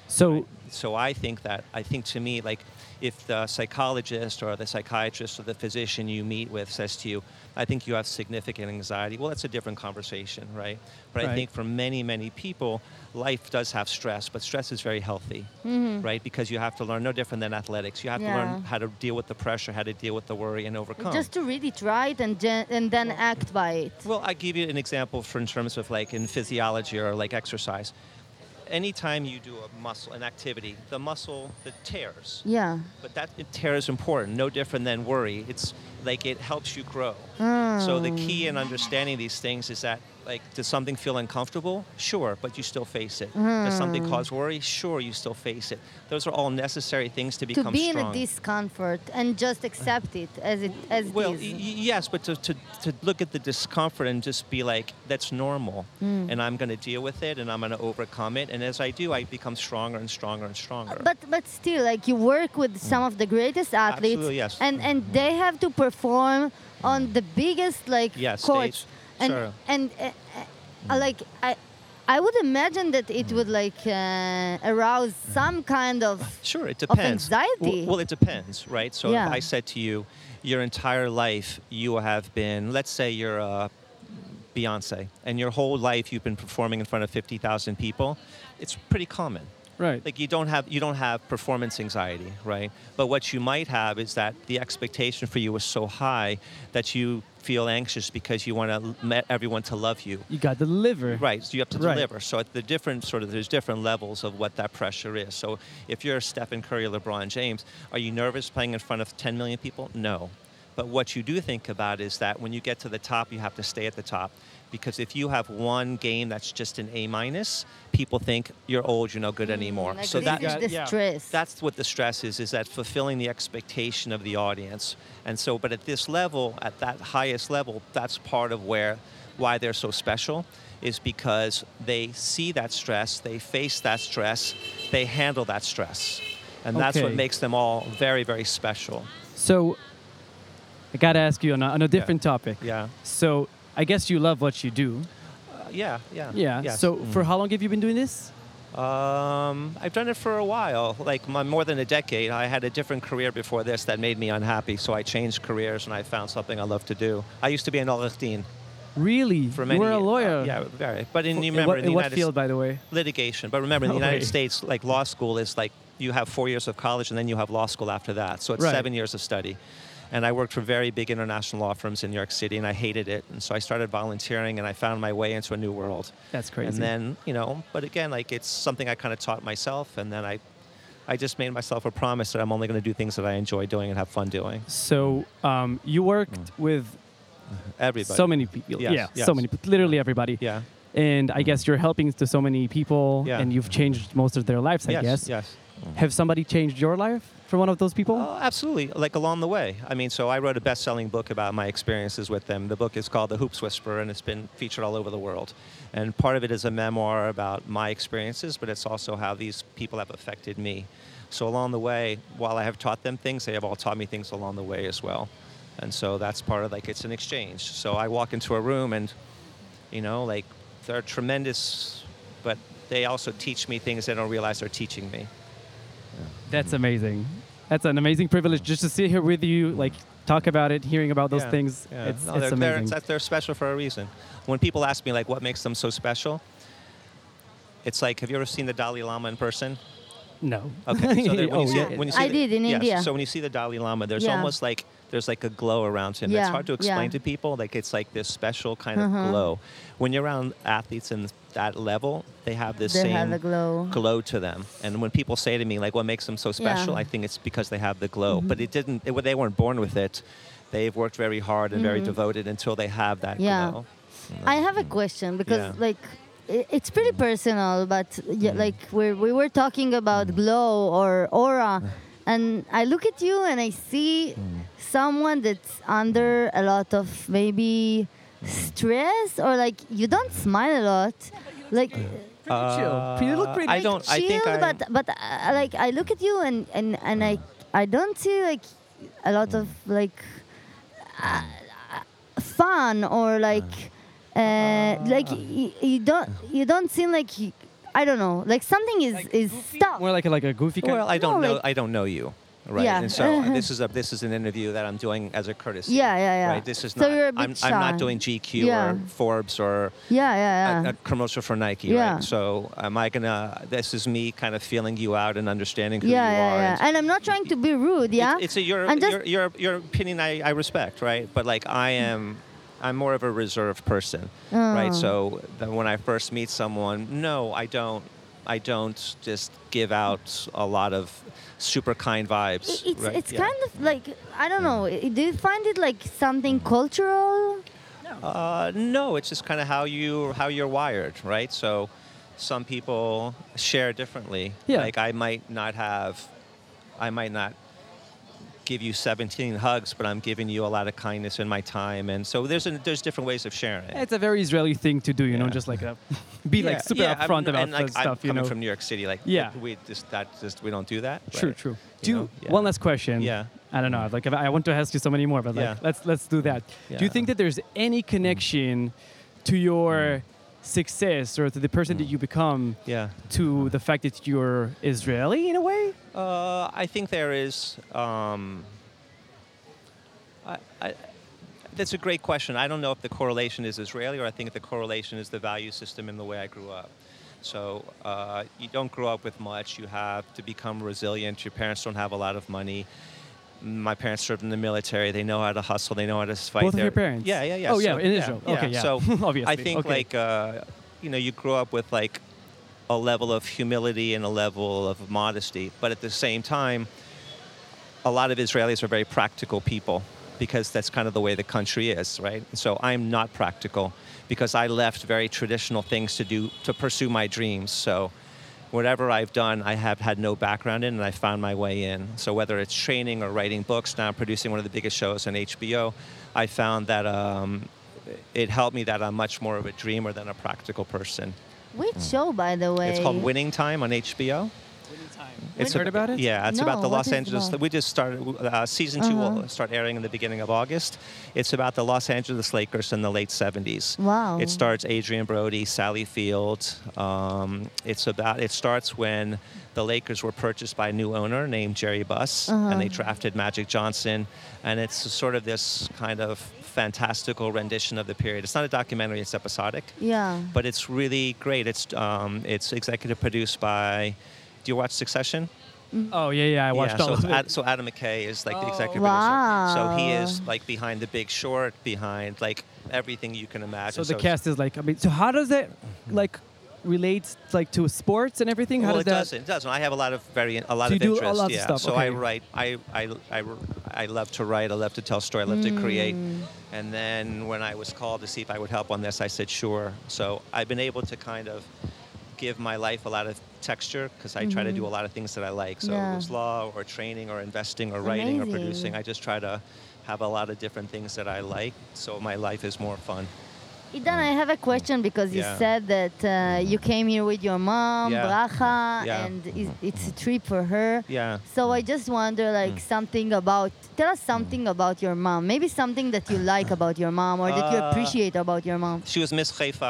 So,
So I think that, I think to me, like, if the psychologist or the psychiatrist or the physician you meet with says to you, I think you have significant anxiety, well, that's a different conversation, right? But
Right.
I think for many, many people, life does have stress, but stress is very healthy, right? Because you have to learn, no different than athletics, you have to learn
Yeah.
how to deal with the pressure, how to deal with the worry and overcome.
Just to read it right and gen- and then act by it.
Well, I give you an example for in terms of like in physiology or like exercise. Anytime you do a muscle, an activity, the muscle that tears,
Yeah.
but that it tear is important, no different than worry. It's like it helps you grow. So the key in understanding these things is that, like, does something feel uncomfortable? Sure, but you still face it. Does something cause worry? Sure, you still face it. Those are all necessary things to
To
become
be in a
strong.
discomfort and just accept it as it as
Well,
it is.
y- y- yes, but to, to, to look at the discomfort and just be like, that's normal, and I'm going to deal with it, and I'm going to overcome it, and as I do, I become stronger and stronger and stronger.
But but still, like you work with some of the greatest athletes,
Absolutely, yes.
and and they have to perform on the biggest like
Yeah,
courts,
stage,
and
sure.
and uh, uh, like I. I would imagine that it would like uh, arouse some kind of
Sure, it
of
depends.
anxiety.
Well, well, it depends, right? So
Yeah.
if I said to you, your entire life you have been, let's say you're a Beyonce, and your whole life you've been performing in front of fifty thousand people, it's pretty common.
right.
Like you don't have you don't have performance anxiety, right? But what you might have is that the expectation for you is so high that you feel anxious because you want to everyone to love you.
You got the liver.
Right, so you have to
Right.
deliver. So at the different sort of there's different levels of what that pressure is. So if you're Stephen Curry or LeBron James, are you nervous playing in front of ten million people? No. But what you do think about is that when you get to the top, you have to stay at the top. Because if you have one game that's just an A minus, people think you're old, you're no good anymore.
Like
So
this
that
is
got-
the
yeah.
stress.
that's what the stress is, is that fulfilling the expectation of the audience. And so, but at this level, at that highest level, that's part of where, why they're so special, is because they see that stress, they face that stress, they handle that stress. And that's what
Okay.
makes them all very, very special.
So, I gotta ask you on a, on a different topic.
Yeah.
So, I guess you love what you do.
Uh, yeah, yeah.
Yeah.
yes.
So,
Mm.
for how long have you been doing this?
Um, I've done it for a while, like my, more than a decade. I had a different career before this that made me unhappy, so I changed careers and I found something I love to do. I used to be an Olich Din
Really?
for
you
many
were a
years.
lawyer.
Yeah, very. But in,
In
you remember,
what,
in the
in what
United
field,
States,
by the way?
litigation. But remember, in the
No
United
way.
States, like law school is like you have four years of college and then you have law school after that. So it's
Right.
seven years of study. And I worked for very big international law firms in New York City, and I hated it. And so I started volunteering, and I found my way into a new world.
That's crazy.
And then, you know, but again, like it's something I kind of taught myself, and then I, I just made myself a promise that I'm only going to do things that I enjoy doing and have fun doing.
So, um, you worked with
Everybody.
so many people.
Yes,
yeah,
yes.
so many, literally everybody.
Yeah.
And I guess you're helping to so many people,
Yeah.
and you've changed most of their lives, I
yes.
guess.
Yes.
Have somebody changed your life for one of those people?
Oh, absolutely. Like along the way. I mean, so I wrote a best-selling book about my experiences with them. The book is called The Hoops Whisperer, and it's been featured all over the world. And part of it is a memoir about my experiences, but it's also how these people have affected me. So along the way, while I have taught them things, they have all taught me things along the way as well. And so that's part of, like, it's an exchange. So I walk into a room and, you know, like, they're tremendous, but they also teach me things they don't realize they're teaching me.
That's amazing. That's an amazing privilege just to sit here with you, like talk about it, hearing about those
Yeah,
things.
yeah.
It's,
No,
it's
they're,
amazing.
They're, they're special for a reason. When people ask me, like, what makes them so special, it's like, have you ever seen the Dalai Lama in person?
no.
Okay. So that when
oh,
you see,
yeah.
when you see
I
the-
did in
yes,
India.
So when you see the Dalai Lama, there's
Yeah.
almost like there's like a glow around him.
Yeah,
It's hard to explain
yeah.
to people. Like it's like this special kind of
Uh-huh.
glow. When you're around athletes in that level, they have this
They
same
have a glow.
glow to them. And when people say to me, like, what makes them so special,
Yeah.
I think it's because they have the glow.
Mm-hmm.
But it didn't. It, they weren't born with it. They've worked very hard and very devoted until they have that
Mm-hmm. Yeah.
glow.
I have a question because,
Yeah.
like, i- it's pretty personal, but yeah, like we we were talking about glow or aura, and I look at you and I see someone that's under a lot of maybe stress or like you don't smile a lot, like
Pretty chill. You look pretty
Uh, I don't. I
chill,
think I.
but but uh, like I look at you and and and I I don't see like a lot of like uh, fun or like uh, like y- you don't you don't seem like you, I don't know, like something is is stuck.
More like a, like a goofy kind.
Well, I don't
No,
know.
like-
I don't know you, right?
Yeah.
And so uh, this is a this is an interview that I'm doing as a courtesy.
Yeah, yeah, yeah.
Right. This is
So
not.
you're a bit
I'm, I'm not
shy.
doing G Q
Yeah.
or Forbes or
Yeah, yeah,
a,
yeah.
a commercial for Nike,
Yeah.
right? So am I gonna? This is me kind of feeling you out and understanding who
yeah,
you
yeah,
are.
yeah.
and-
And I'm not trying to be rude, yeah.
It's, it's a, your,
I'm just-
your, your, your opinion I, I respect, right? But like I am, I'm more of a reserved person, right?
Oh.
So that when I first meet someone, no, I don't, I don't just give out a lot of super kind vibes.
I- It's
right?
it's
Yeah.
kind of like I don't know. i- Do you find it like something cultural?
Uh, no, it's just kind of how you how you're wired, right? So some people share differently.
Yeah.
Like I might not have, I might not give you seventeen hugs, but I'm giving you a lot of kindness in my time, and so there's a, there's different ways of sharing.
It's a very Israeli thing to do, you know,
Yeah.
just like a, be like
Yeah,
super
yeah, I'm-
upfront about
and, like,
the stuff,
I'm
you
coming
know.
from New York City, like
Yeah.
we just that just we don't do that.
True,
right?
true.
You
Do you,
know? Yeah.
one last question.
Yeah.
I don't know. Like, if I I want to ask you so many more, but like,
Yeah.
let's let's do that. Do you
Yeah.
think that there's any connection to your success or to the person that you become
Yeah.
to the fact that you're Israeli in a way?
Uh, I think there is. Um, I, I, that's a great question. I don't know if the correlation is Israeli or I think the correlation is the value system in the way I grew up. So uh, you don't grow up with much. You have to become resilient. Your parents don't have a lot of money. My parents served in the military. They know how to hustle. They know how to fight.
Both of
their-
your parents?
Yeah, yeah, yeah.
Oh, yeah,
So-
in Israel. Okay, yeah.
So
Obviously.
I think
Okay.
like uh, you know you grow up with like a level of humility and a level of modesty, but at the same time, a lot of Israelis are very practical people because that's kind of the way the country is, right? So I'm not practical because I left very traditional things to do to pursue my dreams. So whatever I've done, I have had no background in, and I found my way in. So whether it's training or writing books, now I'm producing one of the biggest shows on H B O, I found that um, it helped me that I'm much more of a dreamer than a practical person.
Which show, by the way?
It's called Winning Time on H B O. It's
Heard about it?
Yeah, it's
No,
about the
what
Los
is it
Angeles.
about?
We just started. Uh, season two
Uh-huh.
will start airing in the beginning of August. It's about the Los Angeles Lakers in the late seventies.
Wow.
It stars Adrian Brody, Sally Field. Um, it's about. It starts when the Lakers were purchased by a new owner named Jerry Buss,
Uh-huh.
and they drafted Magic Johnson, and it's sort of this kind of fantastical rendition of the period. It's not a documentary; it's episodic
Yeah.
but it's really great. It's um, it's executive produced by. Do you watch Succession?
Oh, yeah, yeah. I watched
yeah,
all
so,
of
it's
it.
Ad, so Adam McKay is like the
Oh.
executive
Wow.
producer. So he is like behind The Big Short, behind like everything you can imagine.
So the
it's-
cast is like, I mean, so how does it like relate like to sports and everything? How
well,
does
it
that?
doesn't. It doesn't. I have a lot of very a lot
So
of
you do a
interest.
lot of
yeah.
stuff,
So I
okay.
write. I, I I I love to write. I love to tell story. I love to create.
Mm.
And then when I was called to see if I would help on this, I said sure. So I've been able to kind of give my life a lot of texture because I try to do a lot of things that I like. So
Yeah.
it was law or training or investing or writing or
Amazing.
producing. I just try to have a lot of different things that I like. So my life is more fun.
Idan, I have a question because you
Yeah.
said that uh, you came here with your mom,
Yeah.
Bracha,
Yeah.
and is- it's a trip for her.
Yeah.
So I just wonder, like, something about. Tell us something about your mom. Maybe something that you like about your mom or that you
Uh,
appreciate about your mom.
She was Miss Haifa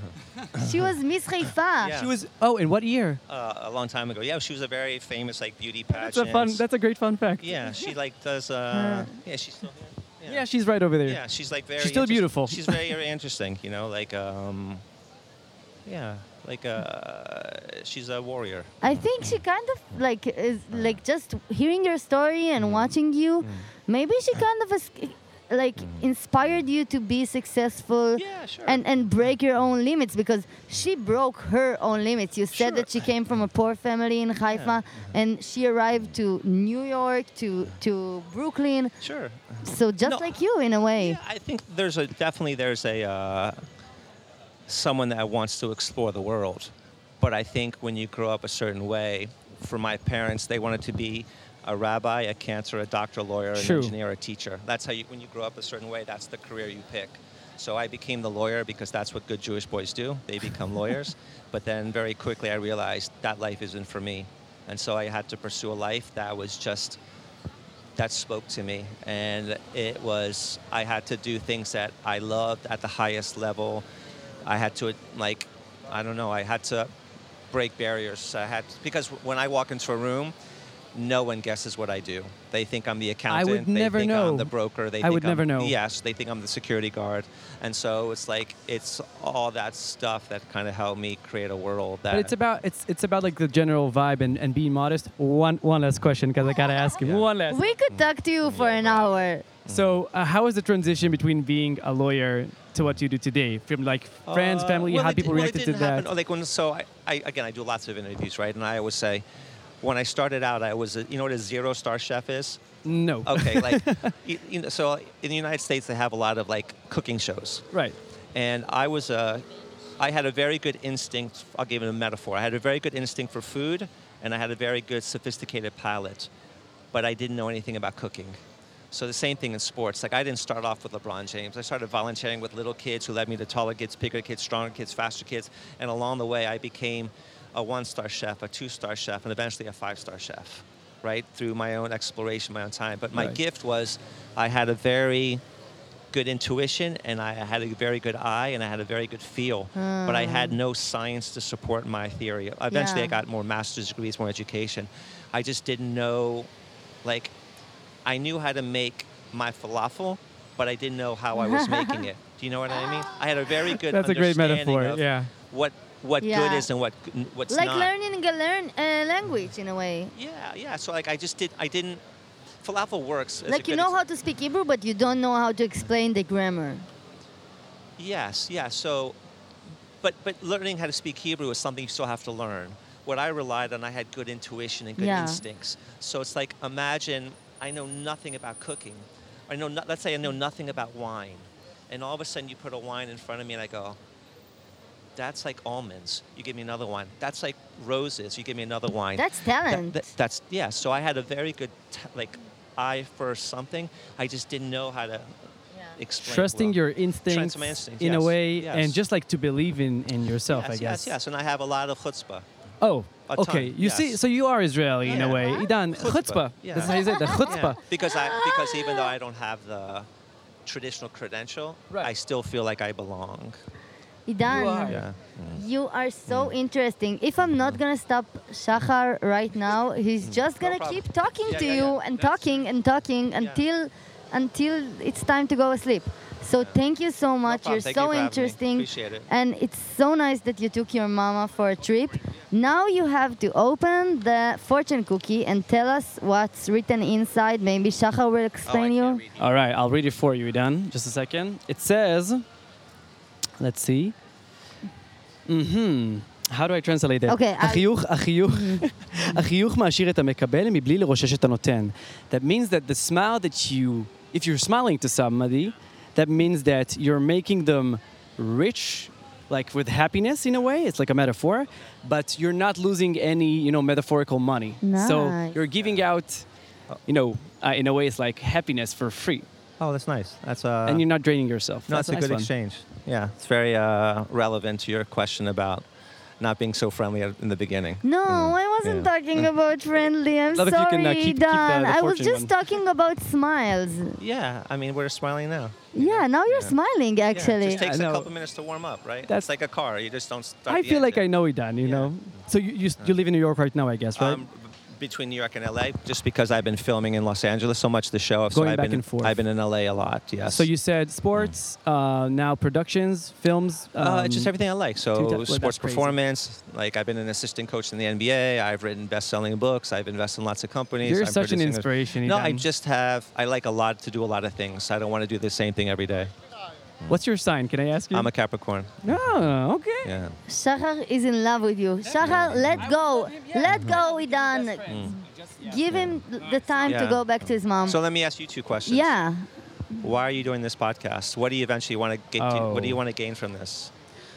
She was Miss Haifa.
Yeah.
She was. Oh, in what year?
uh, a long time ago. Yeah, she was a very famous like beauty pageant.
That's a fun. That's a great fun fact.
Yeah, she like does. Uh, yeah, she's still here.
Yeah, she's right over there.
Yeah, she's like very.
She's still
interest-
beautiful.
She's very, very interesting. You know, like um, yeah, like uh, she's a warrior.
I think she kind of like is like just hearing your story and
Mm.
watching you. Maybe she kind of is, like inspired you to be successful
Yeah, sure.
and and break your own limits because she broke her own limits. You said
Sure.
that she came from a poor family in Haifa and she arrived to New York to to Brooklyn.
Sure.
So just
No,
like you in a way.
Yeah, I think there's a definitely there's a uh, someone that wants to explore the world, but I think when you grow up a certain way, for my parents, they wanted to be a rabbi, a cancer, a doctor, a lawyer, an
True.
engineer, a teacher. That's how you, when you grow up a certain way, that's the career you pick. So I became the lawyer because that's what good Jewish boys do. They become lawyers. But then very quickly I realized that life isn't for me. And so I had to pursue a life that was just, that spoke to me. And it was, I had to do things that I loved at the highest level. I had to, like, I don't know, I had to break barriers. I had because when I walk into a room, no one guesses what I do. They think I'm the accountant.
would
they
never
think
know.
I'm the broker. They
I
think
would
I'm,
never know.
Yes, they think I'm the security guard. And so it's like it's all that stuff that kind of helped me create a world that.
But it's about it's it's about like the general vibe and, and being modest. One one last question because I gotta ask you
Yeah.
one last.
We could talk to you for an hour.
So uh, how is the transition between being a lawyer to what you do today? From like friends,
Uh,
family,
well,
how
it
people
di- well, it
reacted to
didn't happen-
that?
oh, Like when, so I, I, again, I do lots of interviews, right? And I always say, when I started out, I was, a, you know what a zero-star chef is?
No.
Okay, like, you, you know, so in the United States, they have a lot of like cooking shows.
Right.
And I was a, I had a very good instinct, I'll give it a metaphor. I had a very good instinct for food, and I had a very good sophisticated palate, but I didn't know anything about cooking. So the same thing in sports. Like I didn't start off with LeBron James. I started volunteering with little kids who led me to taller kids, bigger kids, stronger kids, faster kids. And along the way, I became a one-star chef, a two-star chef, and eventually a five-star chef, right? Through my own exploration, my own time. But my
Right.
gift was I had a very good intuition, and I had a very good eye, and I had a very good feel. But I had no science to support my theory. Eventually,
Yeah.
I got more master's degrees, more education. I just didn't know, like, I knew how to make my falafel, but I didn't know how I was making it. Do you know what I mean? I had a very good
That's a great
understanding
metaphor.
of
Yeah.
what what
Yeah.
good is and what what's
Like
not.
learning a learn a language in a way.
Yeah, yeah. So like I just did. I didn't. Falafel works. As a
Like you
good
know
ex-
how to speak Hebrew, but you don't know how to explain the grammar.
Yes, yeah. So, but but learning how to speak Hebrew is something you still have to learn. What I relied on, I had good intuition and good
Yeah.
instincts. So it's like imagine I know nothing about cooking. I know. No, let's say I know nothing about wine, and all of a sudden you put a wine in front of me and I go, that's like almonds. You give me another one. That's like roses. You give me another wine.
That's
That-
talent.
that- that's yeah. So I had a very good t- like eye for something. I just didn't know how to explain.
Trusting
well.
your instincts,
Trust my instincts,
in a
yes,
way,
yes.
and just like to believe in, in yourself,
yes,
I guess.
Yes, yes, and I have a lot of chutzpah.
Oh,
A ton,
okay. You see,
yes.
so you are Israeli in a
Yeah.
way. Idan,
Chutzpah,
chutzpah.
yeah.
That's how you say it, the chutzpah.
Yeah, because I because even though I don't have the traditional credential,
Right.
I still feel like I belong.
Idan,
You are.
Yeah.
you are so interesting. If I'm not gonna stop Shachar right now, he's just
No
gonna
problem.
keep talking
Yeah,
to
yeah,
you
yeah.
and
That's-
talking and talking until until it's time to go asleep. So thank you so much.
problem.
You're
Thank
so
you for having me.
interesting.
Appreciate it.
And it's so nice that you took your mama for a trip. Now you have to open the fortune cookie and tell us what's written inside. Maybe Shachar will
Oh, I
explain
can't
you.
read you.
All right, I'll read it for you, Idan. Just a second. It says, let's see. Mm-hmm. How do I translate that?
Okay, I'll-
החיוך, החיוך, החיוך מעשיר את המקבל מבלי לרושש את הנותן. That means that the smile that you, if you're smiling to somebody, that means that you're making them rich, like with happiness in a way. It's like a metaphor, but you're not losing any, you know, metaphorical money. So
Nice.
you're giving out, you know, uh, in a way, it's like happiness for free,
Oh, that's nice. That's uh.
and you're not draining yourself.
No,
That's
it's a
nice
good
one.
exchange. Yeah, it's very uh, relevant to your question about not being so friendly at- in the beginning.
No, I wasn't
Yeah.
talking about friendly. I'm
Love if you
sorry,
can, uh, keep- keep the-
Dan.
the
I was
fortune
just
one.
talking about smiles.
Yeah, I mean, we're smiling now.
Yeah, now you're
Yeah.
smiling
Yeah,
actually.
it just takes
I
a
know.
couple minutes to warm up, right?
That's-
It's like a car. You just don't start
I
the
feel like I
engine.
know Idan, you
Yeah.
know. So you, you you live in New York right now, I guess, right?
Um, b- between New York and L A, just because I've been filming in Los Angeles so much, the show. So
Going
I've
back
been,
and forth.
I've been in L A a lot. Yes.
So you said sports, uh, now productions, films.
Uh,
um,
it's just everything I like.
dude,
So
that- well, that's
sports
crazy.
performance. Like I've been an assistant coach in the N B A. I've written best-selling books. I've invested in lots of companies.
You're
I'm
such an
producing a-
inspiration,
No, I
Idan.
just have. I like a lot to do a lot of things. I don't want to do the same thing every day.
What's your sign? Can I ask you?
I'm a Capricorn.
Oh, okay.
Yeah.
Shachar is in love with you. Shachar, let go. Let go, Idan. Give him the time to
Yeah.
go back to his mom.
So let me ask you two questions.
Yeah.
Why are you doing this podcast? What do you eventually want to get? To, what do you
Oh.
want to gain from this?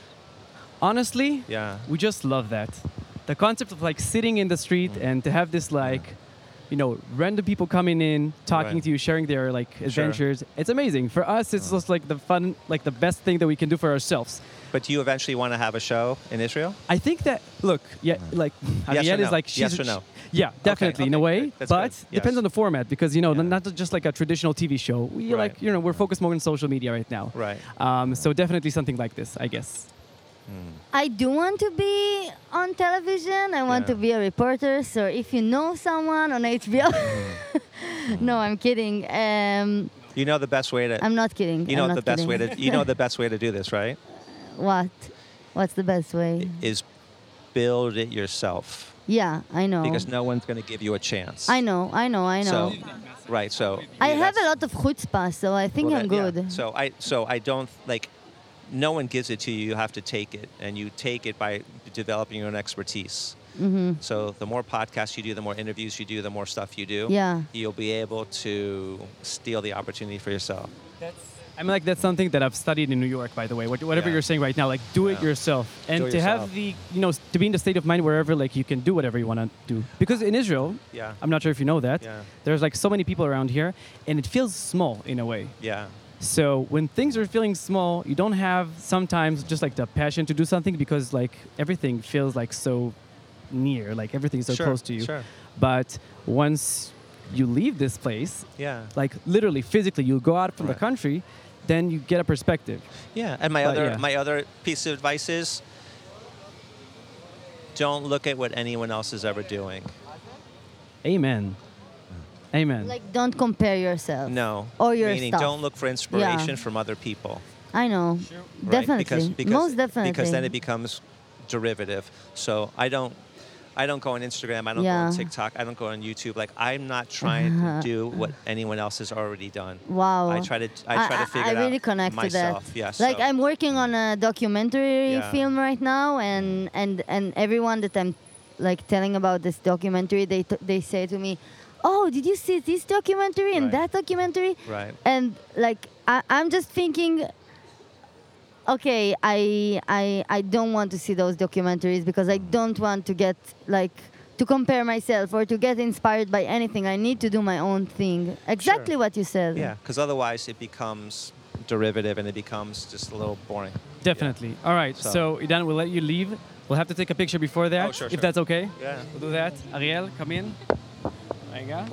Honestly,
Yeah.
we just love that. The concept of like sitting in the street
Mm.
and to have this like, you know, random people coming in, talking
Right.
to you, sharing their like adventures. It's amazing. For us, it's just like the fun, like the best thing that we can do for ourselves.
But do you eventually want to have a show in Israel?
I think that look, yeah, like
Yes
Ariel
or
is
no?
like she's
Yes or no?
Yeah, definitely in a
okay,
way,
great. That's
but
good.
depends
Yes.
on the format because you know
Yeah.
not just like a traditional T V show. We
Right.
like you know we're focused more on social media right now.
Right.
Um, so definitely something like this, I guess.
I do want to be on television. I want
Yeah.
to be a reporter. So if you know someone on H B O, no, I'm kidding. Um,
You know the best way to.
I'm not kidding.
You know
I'm not
the best way
kidding.
to. You know the best way to do this, right?
What? What's the best way?
Is build it yourself
Yeah, I know.
because no one's going to give you a chance.
I know. I know. I know.
So, right. So
I
yeah,
have a
that's-
lot of chutzpah, so I think
well,
I'm
that-
good.
yeah. So I. So I don't like. No one gives it to you. You have to take it, and you take it by developing your own expertise.
Mm-hmm.
So the more podcasts you do, the more interviews you do, the more stuff you do.
Yeah.
You'll be able to steal the opportunity for yourself.
I mean, like, that's something that I've studied in New York, by the way. What- Whatever
Yeah.
you're saying right now, like, do it
Yeah.
yourself. And
Do it
to have
yourself.
the, you know, to be in the state of mind wherever, like, you can do whatever you want to do. Because in Israel,
Yeah.
I'm not sure if you know that,
Yeah.
there's, like, so many people around here, and it feels small in a way.
Yeah.
So when things are feeling small, you don't have sometimes just, like, the passion to do something because, like, everything feels, like, so near. Like, everything's so
Sure,
close to you.
sure.
But once you leave this place,
Yeah.
like, literally, physically, you go out from the
Right.
country, then you get a perspective.
Yeah, and my
But,
other
yeah.
my other piece of advice is don't look at what anyone else is ever doing.
Amen. Amen.
Like, don't compare yourself.
No.
Or your
Meaning
stuff.
don't look for inspiration
Yeah.
from other people.
I know.
Right?
Definitely.
Because, because,
Most definitely.
Because then it becomes derivative. So I don't I don't go on Instagram, I don't go on
Yeah.
TikTok, I don't go on YouTube. Like I'm not trying to do what anyone else has already done.
Wow.
I try to I try to figure
I
it
really
out
connect
myself.
to that.
Yes.
Like I'm working on a documentary
Yeah.
film right now, and and and everyone that I'm like telling about this documentary, they t- they say to me, "Oh, did you see this documentary and
Right.
that documentary?"
Right.
And like I, I'm just thinking, okay, I I I don't want to see those documentaries because I don't want to get like to compare myself or to get inspired by anything. I need to do my own thing. Exactly
Sure.
what you said.
Yeah, because otherwise it becomes derivative and it becomes just a little boring.
Definitely. All right. So,
So-
Idan, we'll let you leave. We'll have to take a picture before that,
Oh, sure,
if
sure.
that's okay.
Yeah.
We'll do that. Ariel, come in. רגע.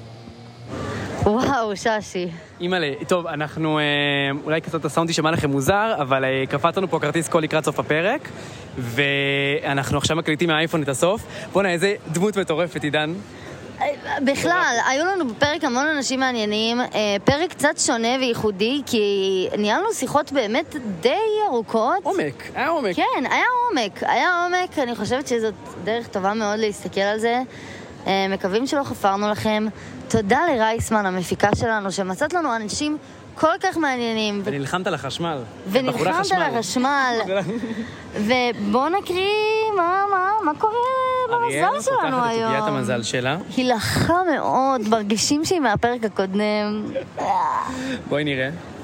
וואו, ששי.
אימא'לה, טוב, אנחנו אה, אולי קצת הסאונד יישמע לכם מוזר, אבל אה, קפץ לנו פה כרטיס קול לקראת סוף הפרק, ואנחנו עכשיו מקליטים מהאייפון את הסוף. בוא'נה, איזה דמות מטורפת, עידן.
בכלל, היו לנו בפרק המון אנשים מעניינים, אה, פרק קצת שונה וייחודי, כי ניהלנו שיחות באמת די ארוכות.
עומק, היה עומק.
כן, היה עומק, היה עומק, אני חושבת שזאת דרך טובה מאוד להסתכל על זה. אה, מקווים שלא חפרנו לכם. תודה לרייסמן, המפיקה שלנו, שמצאת לנו אנשים כל כך מעניינים.
ונלחמת על החשמל.
ונלחמת על החשמל. ובואו נקריא מה, מה, מה קורה במזל שלנו
אריאל פותחת את
היום.
עוגיית המזל שלה.
היא לחה מאוד, מרגישים שהיא מהפרק הקודם.
בואי נראה.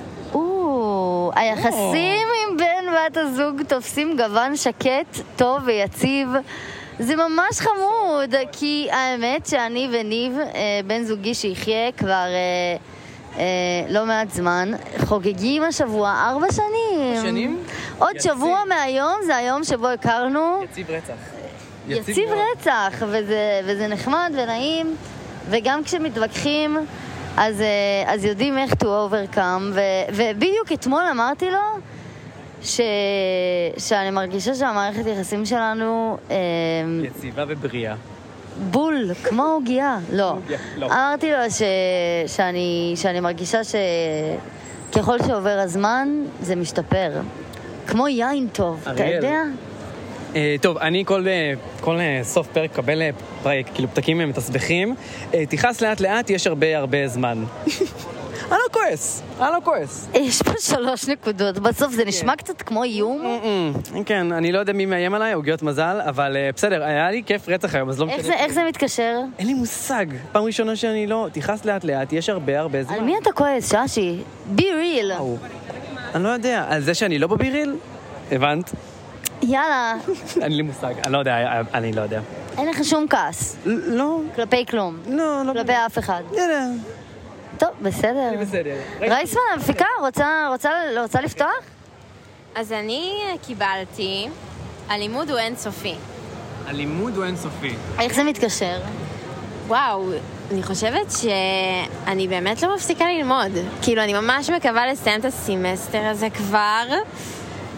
או, היחסים עם בן בת הזוג תופסים גוון שקט, טוב ויציב. זה ממש חמוד, כי האמת שאני וניב, אה, בן זוגי שיחיה כבר אה, אה, לא מעט זמן, חוגגים השבוע ארבע שנים.
שנים?
עוד
יציב.
שבוע מהיום, זה היום שבו הכרנו.
יציב רצח.
יציב
מאוד.
רצח, וזה, וזה נחמד ונעים, וגם כשמתווכחים, אז, אה, אז יודעים איך to overcome, ו, ובדיוק אתמול אמרתי לו, ש... שאני מרגישה שהמערכת יחסים שלנו אה,
יציבה ובריאה.
בול, כמו עוגיה. לא.
עוגיה, לא.
אמרתי לו ש... שאני... שאני מרגישה שככל שעובר הזמן זה משתפר. כמו יין טוב, אתה
אריאל.
יודע?
אה, טוב, אני כל, אה, כל אה, סוף פרק קבל אה, פרק, כאילו פתקים אה, מתסבכים. אה, תיכנס לאט לאט, יש הרבה הרבה זמן. אני לא כועס, אני לא כועס.
יש פה שלוש נקודות, בסוף זה נשמע קצת כמו איום.
Mm-mm. כן, אני לא יודע מי מאיים עליי, עוגיות מזל, אבל אה, בסדר, היה לי כיף רצח היום, אז לא
איך
משנה.
זה, איך זה מתקשר?
אין לי מושג. פעם ראשונה שאני לא... תיכנס לאט לאט, יש הרבה הרבה זמן.
על מי אתה כועס, ששי? be real.
וואו. אני לא יודע, על זה שאני לא בביריל? הבנת?
יאללה,
אין לי מושג, אני לא יודע, אני לא יודע.
אין לך שום כעס.
לא,
כלפי כלום.
לא, לא.
כלפי אף אחד.
יאללה.
טוב, בסדר.
בסדר.
רייסמן, המפיקה, רוצה, רוצה, רוצה לפתוח?
אז אני קיבלתי, הלימוד הוא אינסופי.
הלימוד הוא אינסופי.
איך זה מתקשר?
וואו, אני חושבת שאני באמת לא מפסיקה ללמוד. כאילו, אני ממש מקווה לסיים את הסמסטר הזה כבר,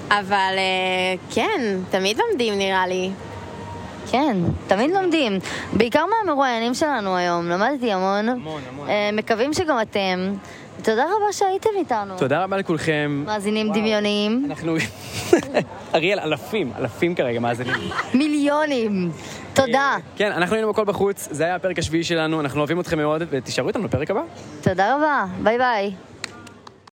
אבל כן, תמיד לומדים נראה לי.
כן, תמיד לומדים. בעיקר מהמרואיינים שלנו היום. למדתי המון.
המון, המון.
מקווים שגם אתם. תודה רבה שהייתם איתנו.
תודה רבה לכולכם.
מאזינים דמיוניים.
אנחנו... אריאל, אלפים, אלפים כרגע מאזינים.
מיליונים. תודה.
כן, אנחנו היינו בכל בחוץ, זה היה הפרק השביעי שלנו, אנחנו אוהבים אתכם מאוד, ותישארו איתנו לפרק הבא.
תודה רבה, ביי ביי.